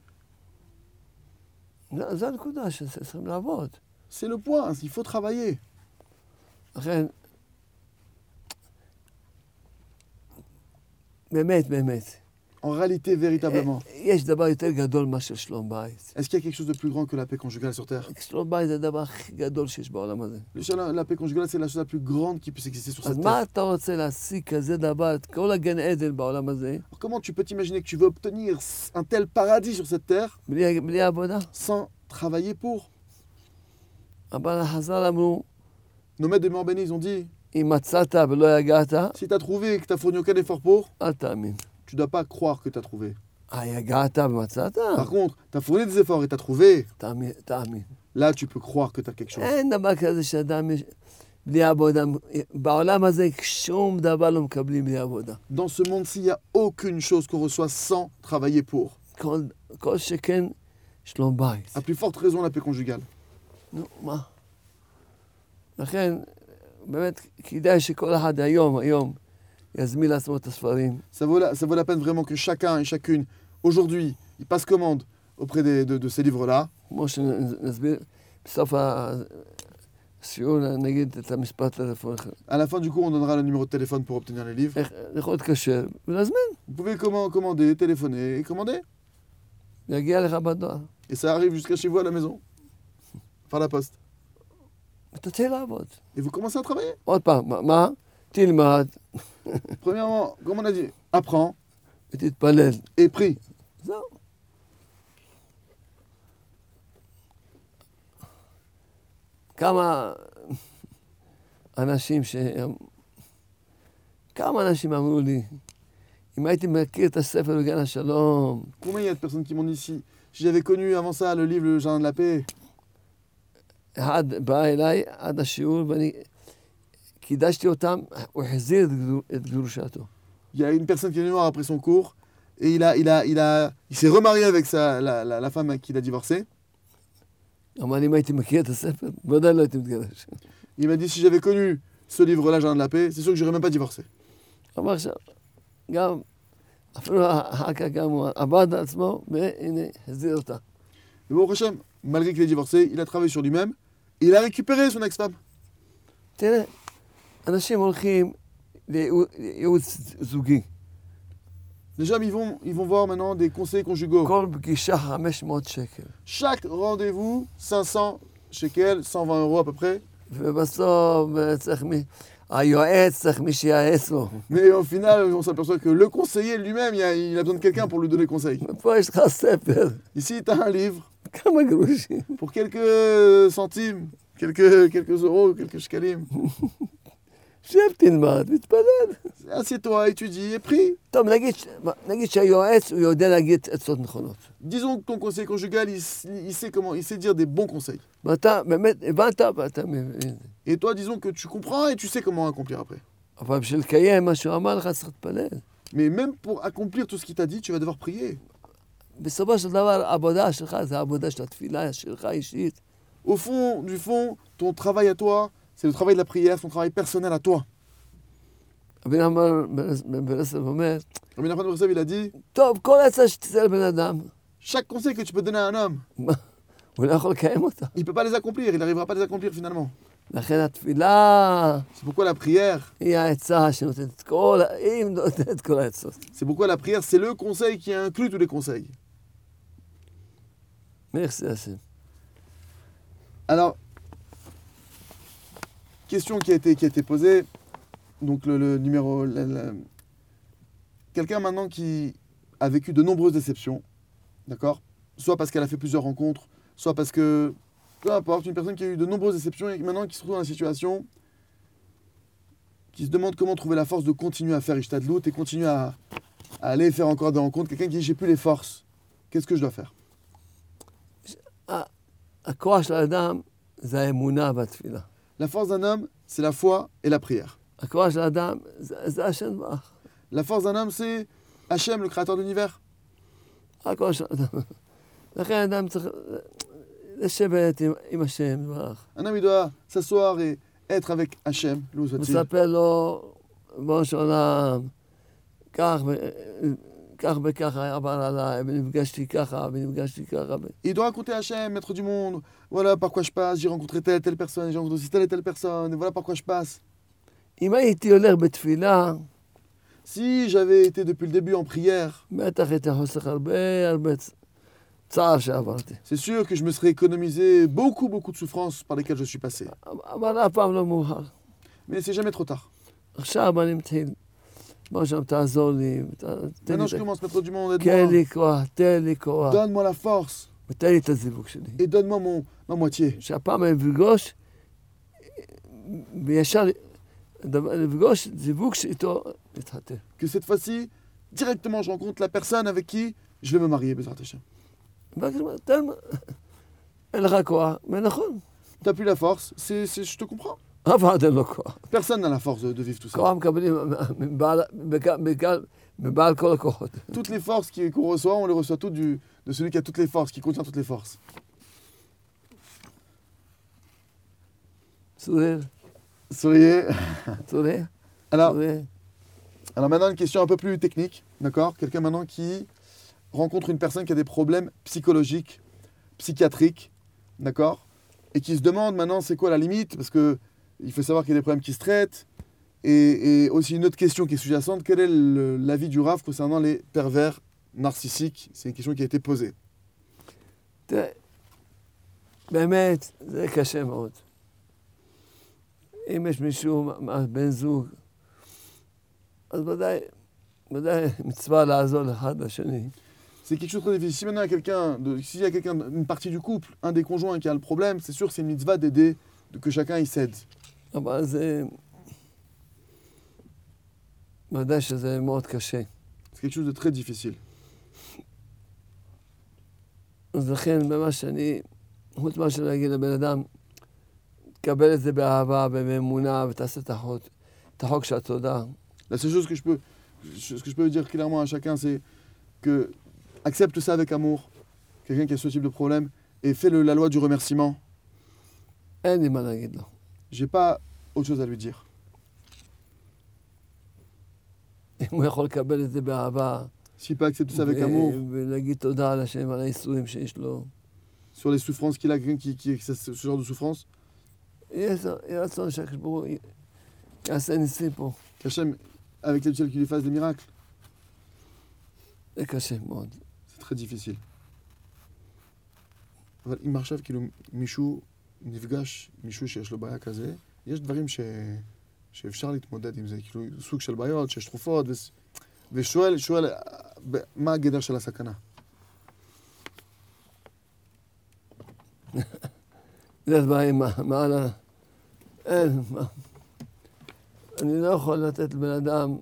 לא, זה הנקודה שצריכים לעבוד. c'est le point, il faut travailler. לכן, באמת, באמת, En réalité, véritablement, יש דבר יותר גדול מאשר שלום בית. est-ce qu'il y a quelque chose de plus grand que la paix conjugale sur Terre? שלום בית זה הדבר הכי גדול שיש בעולם הזה. La, la paix conjugale, c'est la chose la plus grande qui puisse exister sur אז cette מה terre. אתה רוצה להשיג כזה דבר, את כל הגן עדן בעולם הזה, Alors, comment tu peux t'imaginer que tu veux obtenir un tel paradis sur cette terre בלי בלי עבודה? sans travailler pour? אבל חז"ל אמרו, Nos maîtres de mort bénis, ils ont dit, אם מצאת ולא יגעת, si tu as trouvé et que tu n'as fourni aucun effort pour, אל תאמין. tu ne dois pas croire que tu as trouvé. אה, יגעת ומצאת? Par contre, tu as fourni des efforts et tu as trouvé, תאמין, תאמין. là, tu peux croire que tu as quelque chose. אין דבר כזה שאדם יש... בלי עבודה. בעולם הזה שום דבר לא מקבלים בלי עבודה. Dans ce monde-ci, il n'y a aucune chose qu'on reçoit sans travailler pour. כל, כל שכן שלום בית. À plus forte raison, la paix conjugale. נו, מה? לכן, באמת, כדאי שכל אחד היום, היום, יזמין לעצמו את הספרים. Ça vaut, la, ça vaut la peine vraiment que chacun et chacune, aujourd'hui, il passe commande auprès des- de, de ces livres-là. כמו שנסביר, בסוף השיעור נגיד את המשפט טלפון. À la fin du cours, on donnera le numéro de téléphone pour obtenir les livres. איך יכול להתקשר ולהזמין. Vous pouvez commen- commander, téléphoner et commander. יגיע לך בדואר. Et ça arrive jusqu'à chez vous à la maison, par la poste. ותתחיל לעבוד. Et vous commencez à travailler. עוד פעם, מה- מה? תלמד Premièrement, comme on a dit, apprends ותתפלל. et prie. זהו. כמה אנשים ש... כמה אנשים אמרו לי, אם הייתי מכיר את הספר בגן השלום, Combien il y a de personnes qui m'ont dit si, si j'avais connu avant ça le livre Le Jardin de la Paix, אחד בא אליי עד השיעור ואני קידשתי אותם, הוא החזיר את גדול- את גרושתו. il y a une personne qui est venue voir après son cours et il a, il a, il a, il s'est remarié avec sa, la, la, la femme qu'il a divorcé. אמר לי, אם הייתי מכיר את הספר, בוודאי לא הייתי מתגרש. Il m'a dit si j'avais connu ce livre-là, Le Jardin de la Paix, c'est sûr que j'aurais même pas divorcé. אמר עכשיו, גם, אפילו אחר כך גם הוא עבד על עצמו, והנה, החזיר אותה. Mais bon, Hachem, malgré qu'il est divorcé, il a travaillé sur lui-même et il a récupéré son ex-femme. תראה, אנשים הולכים לייעוץ זוגי. Les gens, ils vont, ils vont voir maintenant des conseils conjugaux. כל פגישה חמש מאות שקל. Chaque rendez-vous, cinq cents shekels, cent vingt euros à peu près. ובסוף אה, צריך מי... היועץ צריך מי שייעץ לו. Mais au final, on s'aperçoit que le conseiller lui-même, il a, il a besoin de quelqu'un pour lui donner conseil. פה יש לך ספר, Ici, tu as un livre כמה גרושים. pour quelques centimes, quelques, quelques euros, quelques shekalim. שב תלמד, מתפלל. Assieds-toi, étudie et prie. טוב, נגיד, ש- נגיד שהיועץ הוא יודע להגיד עצות נכונות. Disons que ton conseiller conjugal, il, s- il sait comment, il sait dire des bons conseils. ואתה באמת הבנת ואתה מבין. Et toi, disons que tu comprends et tu sais comment accomplir après. אבל בשביל לקיים מה שהוא אמר לך צריך להתפלל. Mais même pour accomplir tout ce qu'il t'a dit, tu vas devoir prier. בסופו של דבר, העבודה שלך זה העבודה של התפילה שלך אישית. Au fond, du fond, ton travail à toi, c'est le travail de la prière, ton travail personnel à toi. רבי נחמן בן ברסלב אומר, Rabbi Nachman ben Breslov, il a dit, טוב, כל עצה שתצא לבן אדם, chaque conseil que tu peux donner à un homme, מה, הוא לא יכול לקיים אותה. il ne peut pas les accomplir, il n'arrivera pas à les accomplir finalement. לכן התפילה C'est pourquoi la prière, היא העצה שנותנת את כל, ה- היא נותנת את כל העצות. c'est pourquoi la prière, c'est le conseil qui inclut tous les conseils. merci השם. Alors, question qui a été, qui a été posée, donc le, le numéro... la- la- Quelqu'un maintenant qui a vécu de nombreuses déceptions, d'accord? Soit parce qu'elle a fait plusieurs rencontres, soit parce que... Peu importe, une personne qui a eu de nombreuses déceptions et maintenant qui se trouve dans la situation, qui se demande comment trouver la force de continuer à faire Ishtadlout et continuer à, à aller faire encore des rencontres. Quelqu'un qui dit j'ai plus les forces, qu'est-ce que je dois faire? הכוח של האדם זה האמונה והתפילה. La force d'un homme, c'est la foi et la prière. הכוח של האדם זה, זה השם ברך. La force d'un homme, c'est Hachem, le créateur de l'univers. הכוח של האדם. לכן האדם צריך לשבת עם, עם השם ברך. Un homme, il doit s'asseoir et être avec Hachem, loup soit-il. מספר לו, בראש של עולם, כך ו- כך וכך עבר עליי, ונפגשתי ככה, ונפגשתי ככה. Il doit raconter à Hachem, maître du monde, voilà par quoi je passe, j'ai rencontré telle, telle personne, j'ai rencontré aussi telle et telle personne, et voilà par quoi je passe. אם הייתי הולך בתפילה, Si j'avais été depuis le début en prière, בטח הייתי חוסך הרבה הרבה צ- צער שעברתי. c'est sûr que je me serais économisé beaucoup, beaucoup de souffrances par lesquelles je suis passé. אבל אף פעם לא מאוחר. Mais c'est jamais trop tard. עכשיו אני מתחיל. בוא שם, תעזור לי, ת- תן לי Maintenant, את je ה- commence, maître du monde, תן aide-moi. לי כוח, תן לי כוח, Donne-moi la force ותן לי את הזיווג שלי. et donne-moi mon, ma moitié. שהפעם אני אפגוש, וישר דבר- לפגוש זיווג שאיתו להתחתן. Que cette fois-ci, directement, je rencontre la personne avec qui je vais me marier, Bezrat Hachem. ואחר כך, תן, אין לך כוח, ונכון, T'as plus la force, c'est, c'est, je te comprends. אף אחד אין לו כוח. Personne n'a la force de, de vivre tout ça. כוח מקבלים מבעל- בק- בק- מבעל כל הכוחות. Toutes les forces qui- qu'on reçoit, on les reçoit toutes du, de celui qui a toutes les forces, qui contient toutes les forces. צורר, Souriez. צורר, Alors, צורר. Alors maintenant, une question un peu plus technique, d'accord? Quelqu'un maintenant qui rencontre une personne qui a des problèmes psychologiques, psychiatriques, d'accord? Et qui se demande maintenant c'est quoi la limite, parce que il faut savoir qu'il y a des problèmes qui se traitent. Et, et aussi une autre question qui est sous-jacente, quel est le- l'avis du Rav concernant les pervers narcissiques? C'est une question qui a été posée. תראה, באמת, זה קשה מאוד. אם יש מישהו, מ- בן זוג, אז ודאי, ודאי מצווה לעזור אחד לשני. C'est quelque chose de très difficile. Si maintenant il y a quelqu'un, de- s'il y a quelqu'un, une partie du couple, un des conjoints qui a le problème, c'est sûr que c'est une mitzvah d'aider, de que chacun y cède. אבל זה... ודאי שזה מאוד קשה. C'est quelque chose de très difficile. אז לכן, במה שאני, חוץ מאשר להגיד לבן אדם, תקבל את זה באהבה ובאמונה ותעשה את החוק, את החוק של התודה. La seule chose que je peux, ce que je peux dire clairement à chacun, c'est que accepte ça avec amour, quelqu'un qui a ce type de problème, et fais le, la loi du remerciement. אין לי מה להגיד לו. J'ai pas autre chose à lui dire. אם הוא יכול לקבל את זה באהבה, S'il peut accepter ça avec amour, ו- ולהגיד תודה על השם, על האיסורים שיש לו, sur les souffrances qu'il a, quelqu'un qui, qui, qui a ce, ce genre de souffrance, יהיה יהיה רצון שהקדוש ברוך הוא י- יעשה ניסים פה. qu'Hachem, avec l'aide qu'il lui fasse des miracles, זה קשה מאוד. c'est très difficile. אבל אם עכשיו כאילו מישהו נפגש, מישהו שיש לו בעיה כזה, יש דברים ש... שאפשר להתמודד עם זה, כאילו סוג של בעיות, שיש תרופות, ו... ושואל, שואל, ב- מה הגדר של הסכנה? זה דברים מה- מעל ה... אין, מה... אני לא יכול לתת לבן אדם,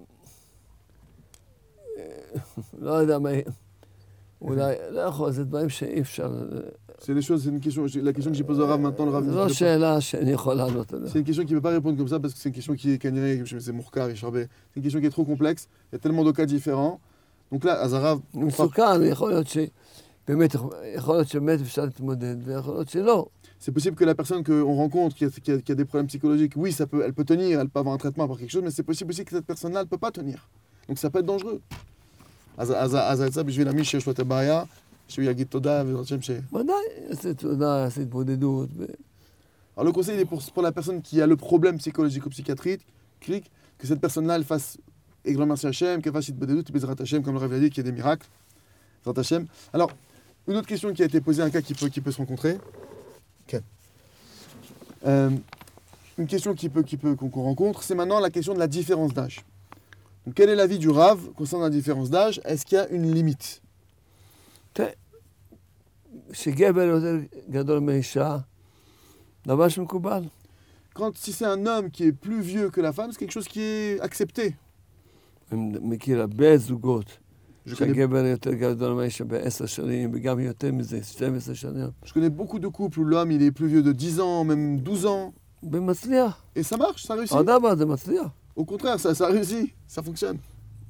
אה, לא יודע מה... אולי, לא יכול, זה דברים שאי אפשר... C'est des choses, c'est une question, la question que j'ai posée au Rav maintenant, le Rav זו dit לא qu'il peut שאלה שאני יכול לענות pas- עליה. c'est une question qui ne peut pas répondre comme ça parce que c'est une question qui est canirée, c'est mourkar, c'est une question qui est trop complexe, il y a tellement de cas différents. Donc là, Azarav, מסוכן, יכול להיות שבאמת, יכול להיות שבאמת אפשר להתמודד, ויכול להיות שלא. c'est possible que la personne qu'on rencontre qui a, qui, a, qui a des problèmes psychologiques, oui, ça peut, elle peut tenir, elle peut avoir un traitement par quelque chose, mais c'est possible aussi que cette personne-là, elle ne peut pas tenir. Donc ça peut être dangereux. אז אז זה בשביל מי שיש לו את הבעיה, שהוא יגיד תודה ובעזרת השם ש... ודאי, יעשה תודה, יעשה התמודדות. ו- Alors le conseil il est pour, pour la personne qui a le problème psychologique ou psychiatrique, clique, que cette personne-là, elle fasse et grand merci Hachem, qu'elle fasse Itbodedut, Bezrat Hachem, comme le Rav l'a dit, qu'il y a des miracles. Bezrat Hachem. Alors, une autre question qui a été posée, un cas qui peut, qui peut se rencontrer. Ok. Euh, une question qui peut, qui peut, qu'on qu'on rencontre, c'est maintenant la question de la différence d'âge. Donc, quel est l'avis du Rav concernant la différence d'âge? Est-ce qu'il y a une limite? תראה, שגבר יותר גדול מאישה, דבר שמקובל. Quand, si c'est un homme qui est plus vieux que la femme, c'est quelque chose qui est accepté. אני מכיר הרבה זוגות, Je connais, שהגבר יותר גדול מאישה בעשר שנים, וגם יותר מזה, שתים עשרה שנים. je connais beaucoup de couples où l'homme il est plus vieux de dix ans, même douze ans, ומצליח. et ça marche, ça réussit. האדם הזה מצליח. Au contraire, ça, ça réussit, ça fonctionne.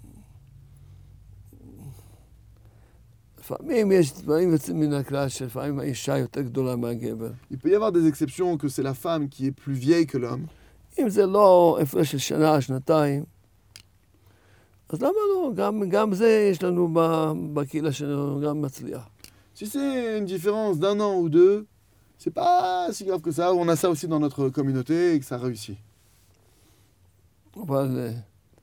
לפעמים יש דברים יוצאים מן הכלל, שלפעמים האישה יותר גדולה מהגבר. Il peut y avoir des exceptions que c'est la femme qui est plus vieille que l'homme. אם זה לא הפרש של שנה, שנתיים, אז למה לא? גם, גם זה יש לנו ב- בקהילה שלנו, גם מצליח. Si c'est une différence d'un an ou deux, c'est pas si grave que ça. On a ça aussi dans notre communauté et que ça réussit. אבל... אה,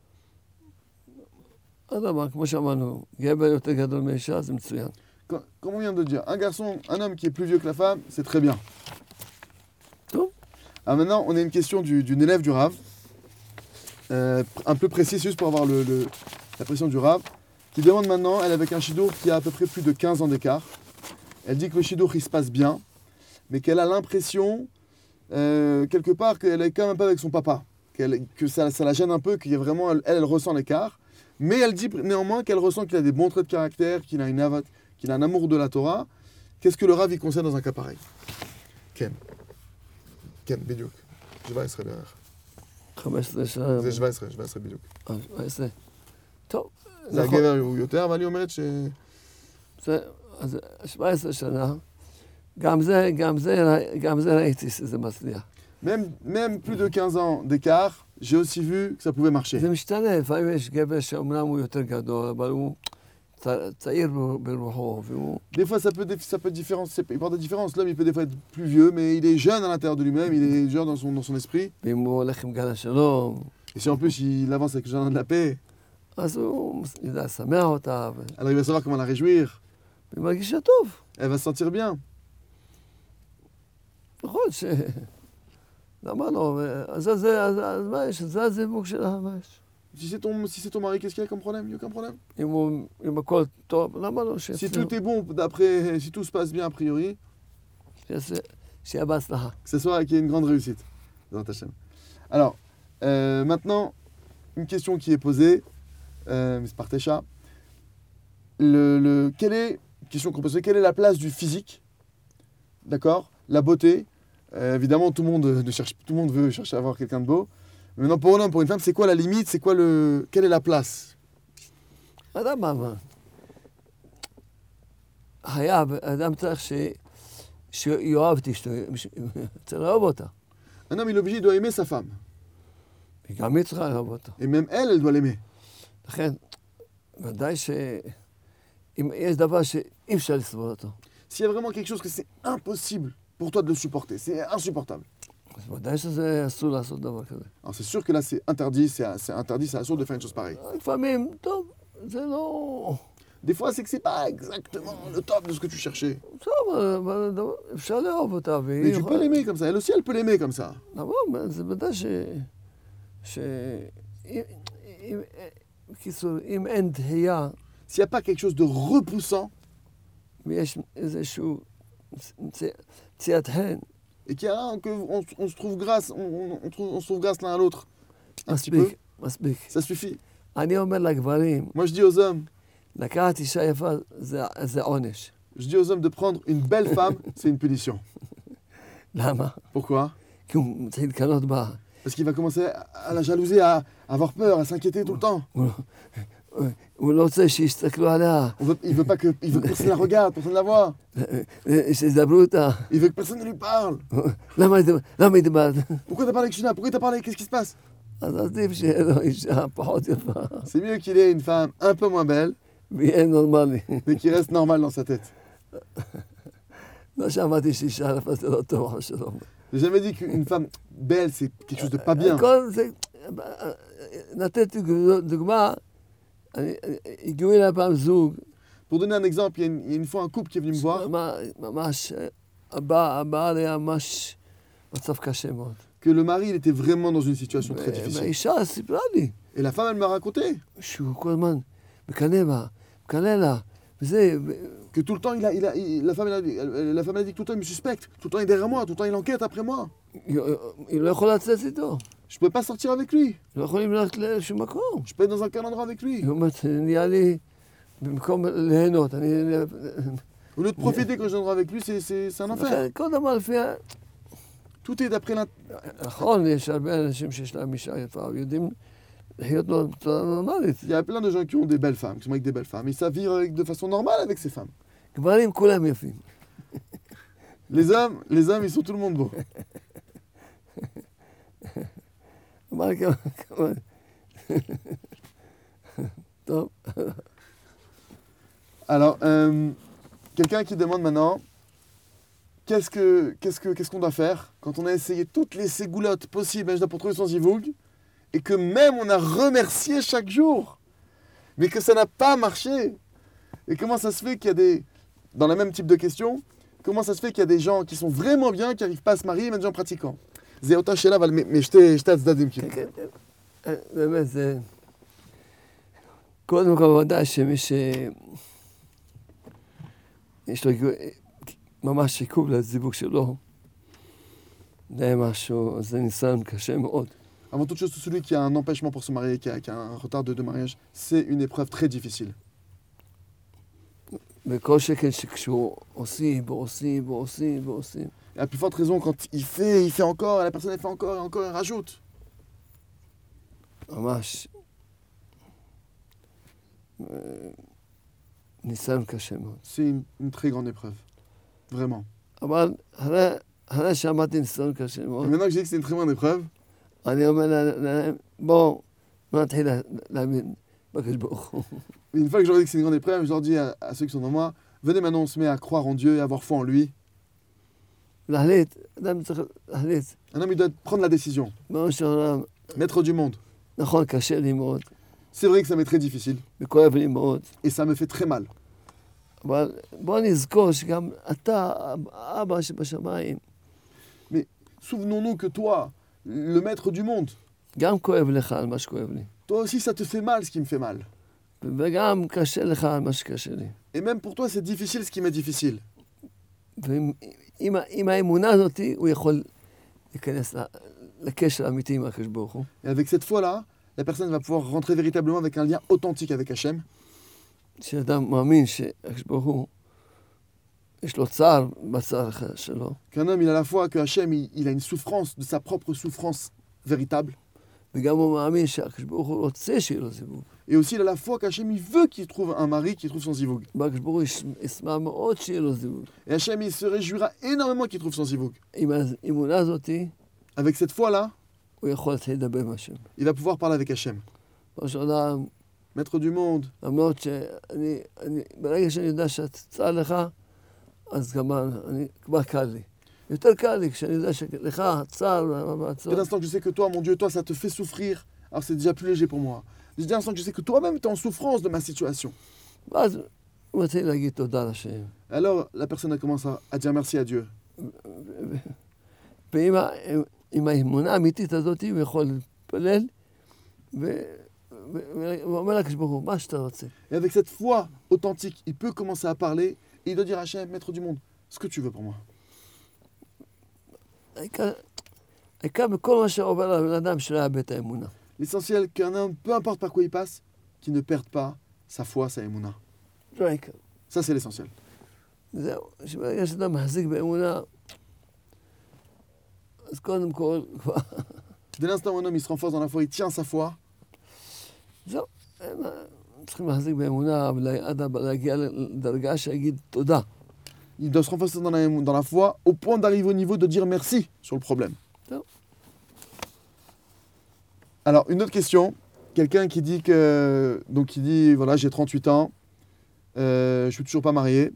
אדמה, כמו שאמרנו, גבר יותר גדול מאישה, זה מצוין. Comme, comme on vient de le dire, un garçon, un homme qui est plus vieux que la femme, c'est très bien. טוב, Ah, maintenant, on a une question du- d'une élève du Rav, euh, un peu précise juste pour avoir le, le- la pression du Rav, qui demande maintenant, elle est avec un shidour qui a à peu près plus de quinze ans d'écart. Elle dit que le shidour il se passe bien, mais qu'elle a l'impression, euh, quelque part, qu'elle est quand même pas avec son papa, qu'elle- que ça, ça la gêne un peu, qu'il y a vraiment, elle, elle ressent l'écart, mais elle dit néanmoins qu'elle ressent qu'il a des bons traits de caractère, qu'il a, une avat- qu'il a un amour de la Torah. Qu'est-ce que le Rav y conseille dans un cas pareil? Ken. Ken, בדיוק. שבע עשרה בערך. חמש עשרה שנה. זה שבע עשרה, שבע עשרה בדיוק. אה, שבע עשרה. טוב, זה נכון. הגבר הוא יותר, אבל היא אומרת ש... זה, אז שבע עשרה שנה, גם זה, גם זה, גם זה ראיתי שזה מצליח. Même, même plus de quinze ans d'écart, j'ai aussi vu que ça pouvait marcher. זה משתנה, לפעמים יש גבר שאומנם הוא יותר גדול, אבל הוא צ- צעיר ב- ברוחו, והוא... Des fois, ça peut, dé- ça peut être différent, c'est- il porte des différences. L'homme, il peut des fois être plus vieux, mais il est jeune à l'intérieur de lui-même, il est jeune dans son, dans son esprit. ואם הוא הולך עם גל השלום, Et si en plus, il avance avec le jardin de la paix, אז הוא יודע לשמח אותה, ו- alors il va savoir comment la réjouir. והיא מרגישה טוב. Elle va se sentir bien. נכון ש... למה לא? אז אז- אז אז מה יש? זה הזיווג שלה, מה יש? Si c'est ton, si c'est ton mari, qu'est-ce qu'il y a comme problème? Il n'y a aucun problème. אם הוא- אם הכל טוב, למה לא Si שיצליח? tout est bon, d'après, si tout se passe bien a priori, שיעשה- שיהיה בהצלחה. que ce soit qu'il y ait une grande réussite. Dans ta chaîne. Alors, euh, maintenant, une question qui est posée, euh, Miss Partecha. Le, le, quelle est, question qu'on peut se poser, quelle est la place du physique? D'accord? La beauté. Euh, évidemment, tout le, monde, ne cherche, tout le monde veut chercher à avoir quelqu'un de beau. Mais maintenant, pour un homme, pour une femme, c'est quoi la limite? C'est quoi le, quelle est la place? אדם מה? חייב, אדם צריך ש... שיאהב את אשתו, צריך לאהוב אותה. Un homme, il est obligé, il doit aimer sa femme. וגם היא צריכה לאהוב אותה. Et même elle, elle doit l'aimer. לכן, ודאי שאם יש דבר שאי אפשר לסבול אותו, S'il y a vraiment quelque chose que c'est impossible pour toi de le supporter, c'est insupportable. אז ודאי שזה אסור לעשות דבר כזה. Alors c'est sûr que là, c'est interdit, c'est c'est interdit, c'est assourd de faire une chose pareille. לפעמים, טוב, זה לא... Des fois, c'est que c'est pas exactement le top de ce que tu cherchais. טוב, אבל דבר- אפשר לאהוב אותה, Mais והיא tu peux l'aimer comme ça. Elle aussi, elle peut l'aimer comme ça. נכון, זה ודאי ש... ש... אם- אם- בקיצור, אם אין דחייה, S'il n'y a pas quelque chose de repoussant ויש איזשהו צ- ציית חן, et qu'il y a un, que on, on se trouve grâce, on, on- on trouve, on se trouve grâce l'un à l'autre, un petit peu, מספיק, מספיק. ça suffit. אני אומר לגברים, Moi, je dis aux hommes, לקחת אישה יפה זה, זה עונש. je dis aux hommes de prendre une belle femme, c'est une punition. למה? Pourquoi? כי הוא מתחיל לקנות בה. Parce qu'il va commencer à la jalouser, à avoir peur, à s'inquiéter tout le temps. הוא, הוא לא רוצה שיסתכלו עליה, On veut, il veut pas que, il veut que personne la regarde, personne la voit. שידברו אותה. Il veut que personne ne lui parle. למה היא- למה היא דיברת? Pourquoi t'as parlé avec Shina? Pourquoi t'as parlé? Qu'est-ce qui se passe? אז עדיף שיהיה לו אישה פחות יפה, C'est mieux qu'il ait une femme un peu moins belle, ויהיה נורמלי. mais qui reste normale dans sa tête. לא שמעתי שאישה יפה זה לא טוב, אבל שלום. J'ai jamais dit qu'une femme belle, c'est quelque chose de pas bien. כל זה, נתתי דוגמה, אני- הגיעו אליי פעם זוג, Pour donner un exemple, il y, a une, il y a une fois un couple qui est venu me voir, ממש- ממש, הבעל הבעל היה ממש מצב קשה מאוד. que le mari, il était vraiment dans une situation très difficile. והאישה סיפרה לי Et la femme, elle m'a raconté שהוא כל הזמן מקנא בה, מקנא לה, וזה, ו- que tout le temps, il a, il a, il- la, femme, elle a, dit- elle- la femme, elle a dit que tout le temps, il me suspecte. Tout le temps, il est derrière moi. Tout le temps, il enquête après moi. היא היא לא יכולה לצאת איתו, Je peux pas sortir avec lui. לא יכולים ללכת לאיזשהו מקום. Je peux être dans un aucun endroit avec lui. היא אומרת, נהיה לי, במקום ליהנות, אני... Au lieu de profiter quand je endroit avec lui, c'est, c'est, c'est un enfer. לכן, כל דבר לפי... ה- Tout est d'après l'int... נכון, יש הרבה אנשים שיש להם אישה יפה, ויודעים לחיות לו בצורה נורמלית. Il y a plein de gens qui ont des belles femmes, qui sont avec des belles femmes. Ils savent vivre avec, de façon normale avec ces femmes. גברים כולם יפים. Les hommes, les hommes, ils sont tout le monde beaux. אמר כמה... כמה... טוב, Alors, euh, quelqu'un qui demande maintenant, qu'est-ce que, qu'est-ce que, qu'est-ce qu'on doit faire quand on a essayé toutes les ségoulottes possibles hein, pour trouver son zivoug, et que même on a remercié chaque jour, mais que ça n'a pas marché. Et comment ça se fait qu'il y a des, dans le même type de question, comment ça se fait qu'il y a des gens qui sont vraiment bien, qui n'arrivent pas à se marier, même des gens pratiquants. זה אותה שאלה, אבל מ- משתי שתי הצדדים כאילו. כן, כן, כן. באמת, זה... קודם כל, ודאי שמי ש... יש לו ממש עיכוב לזיווג שלו, זה משהו, זה ניסיון קשה מאוד. Avant toute chose, tout celui qui a un empêchement pour se marier, qui a, qui a un retard de, de mariage, c'est une épreuve très difficile. וכל שכן שכשהוא עושים ועושים ועושים ועושים, Et à plus forte raison, quand il fait, il fait encore, et la personne elle fait encore et encore, elle rajoute. ממש אה, ניסיון קשה מאוד. C'est une, une très grande épreuve. Vraiment. אבל אחרי- אחרי שאמרתי ניסיון קשה Et מאוד, maintenant que j'ai dit que c'est une très grande épreuve, אני אומר להם, בואו, לא נתחיל להאמין בקדוש ברוך הוא. Une fois que je leur dis que c'est une grande épreuve, je leur dis à, à ceux qui sont devant moi, venez maintenant, on se met à croire en Dieu et à avoir foi en lui. להחליט, אדם צריך להחליט. Un homme, il doit prendre la décision. בראש של העולם, Maître du monde. נכון, קשה לי מאוד, C'est vrai que ça m'est très difficile וכואב לי מאוד, et ça me fait très mal. אבל בוא נזכור שגם אתה, אבא שבשמיים, Souvenons-nous que toi, le maître du monde, גם כואב לך על מה שכואב לי, toi aussi ça te fait mal ce qui me fait mal. וגם קשה לך על מה שקשה לי. Et même pour toi c'est difficile ce qui m'est difficile. ועם עם, עם האמונה הזאת, הוא יכול להיכנס ל- לקשר אמיתי עם הקדוש ברוך הוא. Et avec cette foi-là, la personne va pouvoir rentrer véritablement avec un lien authentique avec Hachem. שאדם מאמין שהקדוש ברוך הוא, יש לו צער בצער שלו, Qu'un homme, il a la foi que Hachem, il, il a une souffrance, de sa propre souffrance véritable. וגם הוא מאמין שהקדוש ברוך הוא רוצה שיהיה לו זיווג. Et aussi, il a la foi qu'Hachem, il veut qu'il trouve un mari qui trouve son zivoug. והקדוש ברוך הוא יש- ישמח מאוד שיהיה לו זיווג. Et Hachem, il se réjouira énormément qu'il trouve son zivoug. עם האמונה הזאת, Avec cette foi-là, הוא יכול להתחיל לדבר עם השם. il va pouvoir parler avec Hachem. בראש העולם, Maître du monde, למרות שאני, אני, ברגע שאני יודע שצער לך, אז גם אני, כבר קל לי. יותר קל לי כשאני יודע שלך צער dès והצער. l'instant que je sais que toi, mon Dieu, toi, ça te fait souffrir, alors c'est déjà plus léger pour moi. Dès l'instant que je sais que toi-même, tu es en souffrance de ma situation. ואז הוא מתחיל להגיד תודה לשם. Alors, la personne elle commence à, à dire merci à Dieu. ועם ה- עם האמונה האמיתית הזאת, הוא יכול להתפלל, ו- ו- והוא אומר לקדוש ברוך הוא, מה שאתה רוצה. Et avec cette foi authentique, il peut commencer à parler et il doit dire à Hachem, Maître du monde, ce que tu veux pour moi. העיקר, העיקר בכל מה שעובר על הבן אדם שלא יאבד את האמונה. L'essentiel qu'un homme, peu importe par quoi il passe, qu'il ne perde pas sa foi, sa émouna. זה העיקר. Ça, c'est l'essentiel. זהו, שברגע שאתה מחזיק באמונה, אז קודם כל, כבר, Dès l'instant où un homme il se renforce dans la foi, il tient sa foi, זהו, הם צריכים להחזיק באמונה, עד להגיע לדרגה שיגיד תודה. il doit se renforcer dans la, dans la foi au point d'arriver au niveau de dire merci sur le problème. Non. Alors, une autre question. Quelqu'un qui dit que. Donc, qui dit voilà, j'ai trente-huit ans, euh, je suis toujours pas marié.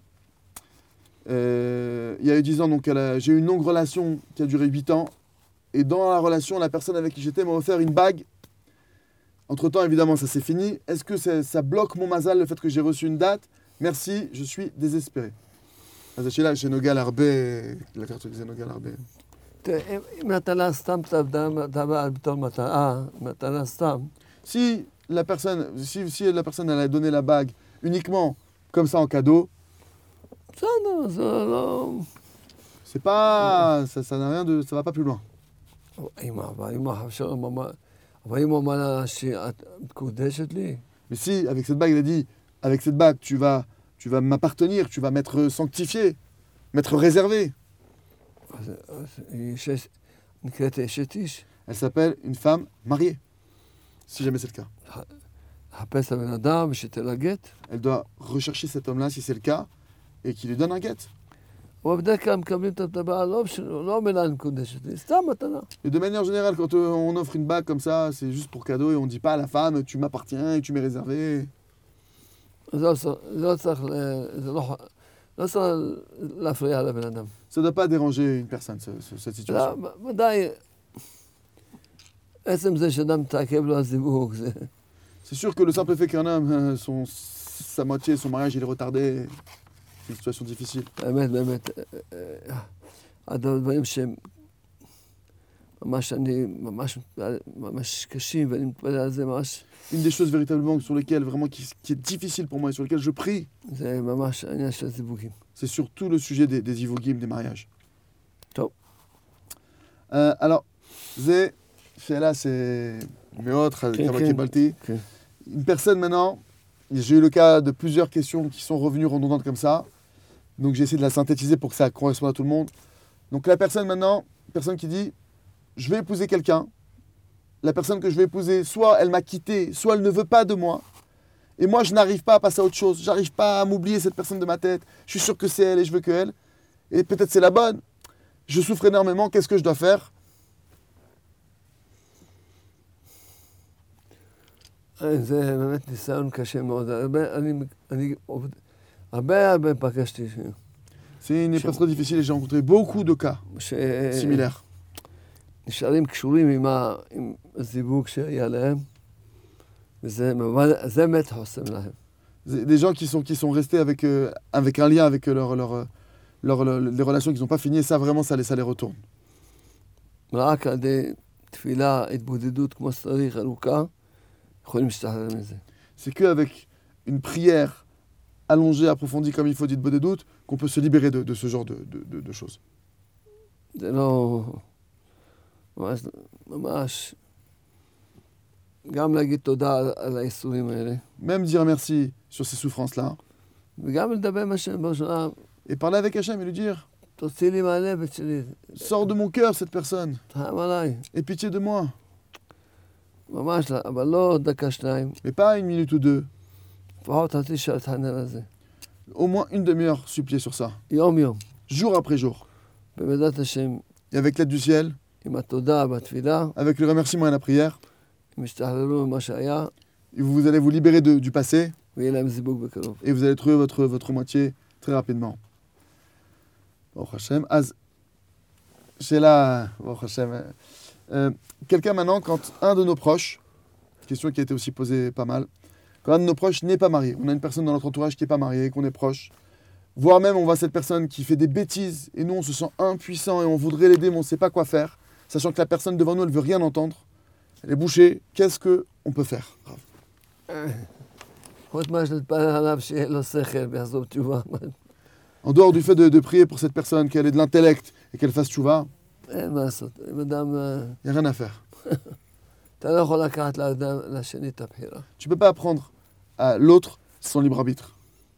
Euh, il y a eu dix ans, donc elle a- j'ai eu une longue relation qui a duré huit ans. Et dans la relation, la personne avec qui j'étais m'a offert une bague. Entre-temps, évidemment, ça s'est fini. Est-ce que ça, ça bloque mon mazal, le fait que j'ai reçu une date? Merci, je suis désespéré. אז השאלה שנוגע להרבה, לקחת את זה נוגע להרבה. תראה, אם- אם נתנה סתם את הבעל בתור מתנה, מתנה סתם, Si la personne, si, si la personne elle a donné la bague uniquement comme ça en cadeau, בסדר, זה לא... c'est pas, ça, ça n'a rien de, ça va pas plus loin. אמא, אבל אם עכשיו, אבל אם הוא אמר לה שאת מקודשת לי, Mais si avec cette bague il a dit, avec cette bague tu vas, tu vas m'appartenir, tu vas m'être sanctifié, m'être réservé. אז אז היא אשת- נקראת אשת איש, Elle s'appelle une femme mariée, si jamais c'est le cas. לחפש את הבן אדם ושתל הגט. Elle doit rechercher cet homme-là si c'est le cas et qu'il lui donne un guet. אבל בדרך כלל מקבלים את הבעל, לא בשביל- לא מילה מקודשת לי, סתם מתנה. Et de manière générale, quand euh, on offre une bague comme ça, c'est juste pour cadeau et on dit pas à la femme tu m'appartiens et tu m'es réservé. אז לא צריך- לא צריך, ל- זה לא לא צריך להפריע לבן אדם. Ça ne doit pas déranger une personne, ce- ce- cette situation. לא, ודאי, עצם זה שאדם מתעכב לו הזיווג, זה... C'est sûr que le simple fait qu'un homme, euh, son, sa moitié, son mariage, il est retardé, c'est une situation difficile. באמת, באמת, אה, אה, אחד הדברים שהם ממש, אני, ממש, ממש קשים, ואני מתפלל על זה ממש, Une des choses véritablement sur lesquelles, vraiment, qui, qui est difficile pour moi et sur lesquelles je prie, זה ממש העניין של הזיווגים. c'est surtout le sujet des, des ivogim, des mariages. טוב. Euh, alors, c'est, là, c'est מאוד, כמה כן. קיבלתי. כן. Une personne maintenant, j'ai eu le cas de plusieurs questions qui sont revenues redondantes comme ça. Donc j'ai essayé de la synthétiser pour que ça corresponde à tout le monde. Donc la personne maintenant, personne qui dit, je vais épouser quelqu'un. La personne que je vais épouser, soit elle m'a quitté, soit elle ne veut pas de moi. Et moi, je n'arrive pas à passer à autre chose. J'arrive pas à m'oublier cette personne de ma tête. Je suis sûr que c'est elle et je veux que elle. Et peut-être c'est la bonne. Je souffre énormément. Qu'est-ce que je dois faire? זה באמת ניסיון קשה מאוד. הרבה, אני, אני, הרבה הרבה פגשתי C'est une épreuve très difficile et j'ai rencontré beaucoup de cas ש... similaires. נשארים קשורים עם, ה... עם הזיווג שהיה להם, וזה זה באמת חוסם להם. Des gens qui sont, qui sont restés avec, euh, avec un lien avec leur, leur, leur, leur, les relations qu'ils n'ont pas fini, et ça vraiment, ça les, ça les retourne. רק על ידי תפילה, התבודדות כמו שצריך, ארוכה, יכולים להשתחרר מזה. C'est qu'avec une prière allongée, approfondie comme il faut, dite des doutes, qu'on peut se libérer de, de ce genre de, de, de, de choses. זה לא... ממש, ממש... גם להגיד תודה על, על האיסורים האלה. Même dire merci sur ces souffrances-là. וגם לדבר עם השם בראשונה. Et parler avec Hachem et lui dire, תוציא לי מהלב שלי. sors de mon cœur cette personne. תרחם עליי. Et pitié de moi. ממש, אבל לא דקה שניים. Mais pas une minute ou deux. לפחות חצי שעה להתחנן על זה. Au moins une demi-heure supplier sur ça. יום יום. Jour après jour. בעזרת השם. Et avec l'aide du ciel. עם התודה בתפילה. Avec le remerciement et la prière. הם ישתחררו ממה שהיה. Et vous allez vous libérer de, du passé. ויהיה להם זיווג בקרוב. Et vous allez trouver votre, votre moitié très rapidement. Baruch Hashem. Az, j'ai là, Baruch Hashem. Euh, quelqu'un maintenant, quand un de nos proches, question qui a été aussi posée pas mal, quand un de nos proches n'est pas marié, on a une personne dans notre entourage qui n'est pas mariée, qu'on est proche, voire même on voit cette personne qui fait des bêtises et nous on se sent impuissant et on voudrait l'aider mais on ne sait pas quoi faire, sachant que la personne devant nous elle ne veut rien entendre, elle est bouchée, qu'est-ce qu'on peut faire? En dehors du fait de, de prier pour cette personne, qu'elle ait de l'intellect et qu'elle fasse tchouva, il n'y a rien à faire. Tu ne peux pas apprendre à l'autre son libre arbitre.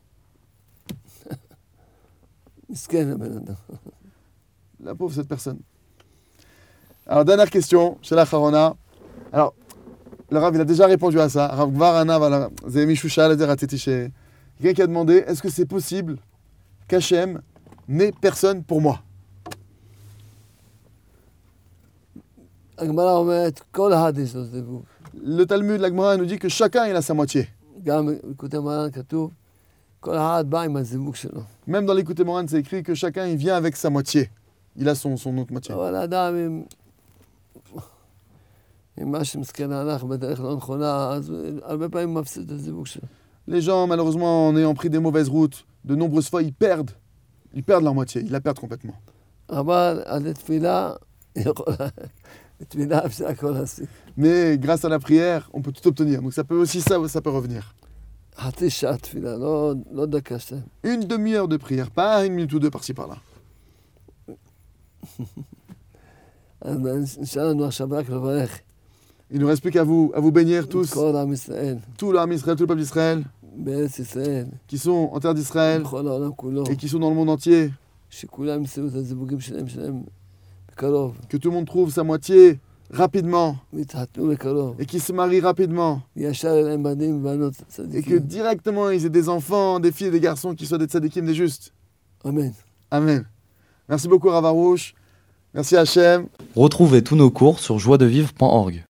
La pauvre cette personne. Alors, dernière question, chez la Harona. Alors, le Rav, il a déjà répondu à ça. Rav Gvarana, voilà. Quelqu'un qui a demandé, est-ce que c'est possible qu'Hachem n'ait personne pour moi? Le Talmud, la Gemara, nous dit que chacun il a sa moitié. Même dans l'écouté Moran, c'est écrit que chacun il vient avec sa moitié. Il a son, son autre moitié. Les gens, malheureusement, en ayant pris des mauvaises routes, de nombreuses fois, ils perdent. Ils perdent leur moitié. Ils la perdent complètement. Mais grâce à la prière, on peut tout obtenir. Donc ça peut aussi, ça, ça peut revenir. Une demi-heure de prière, pas une minute ou deux par-ci par-là. Il ne nous reste plus qu'à vous, à vous bénir tous. Tout l'âme Israël, tout le peuple d'Israël, qui sont en terre d'Israël et qui sont dans le monde entier. Que tout le monde trouve sa moitié rapidement et qu'ils se marient rapidement et que directement ils aient des enfants, des filles et des garçons qui soient des tzadikim, des justes. Amen. Amen. Merci beaucoup Rav Arush. Merci Hachem. Retrouvez tous nos cours sur joie de vivre point org.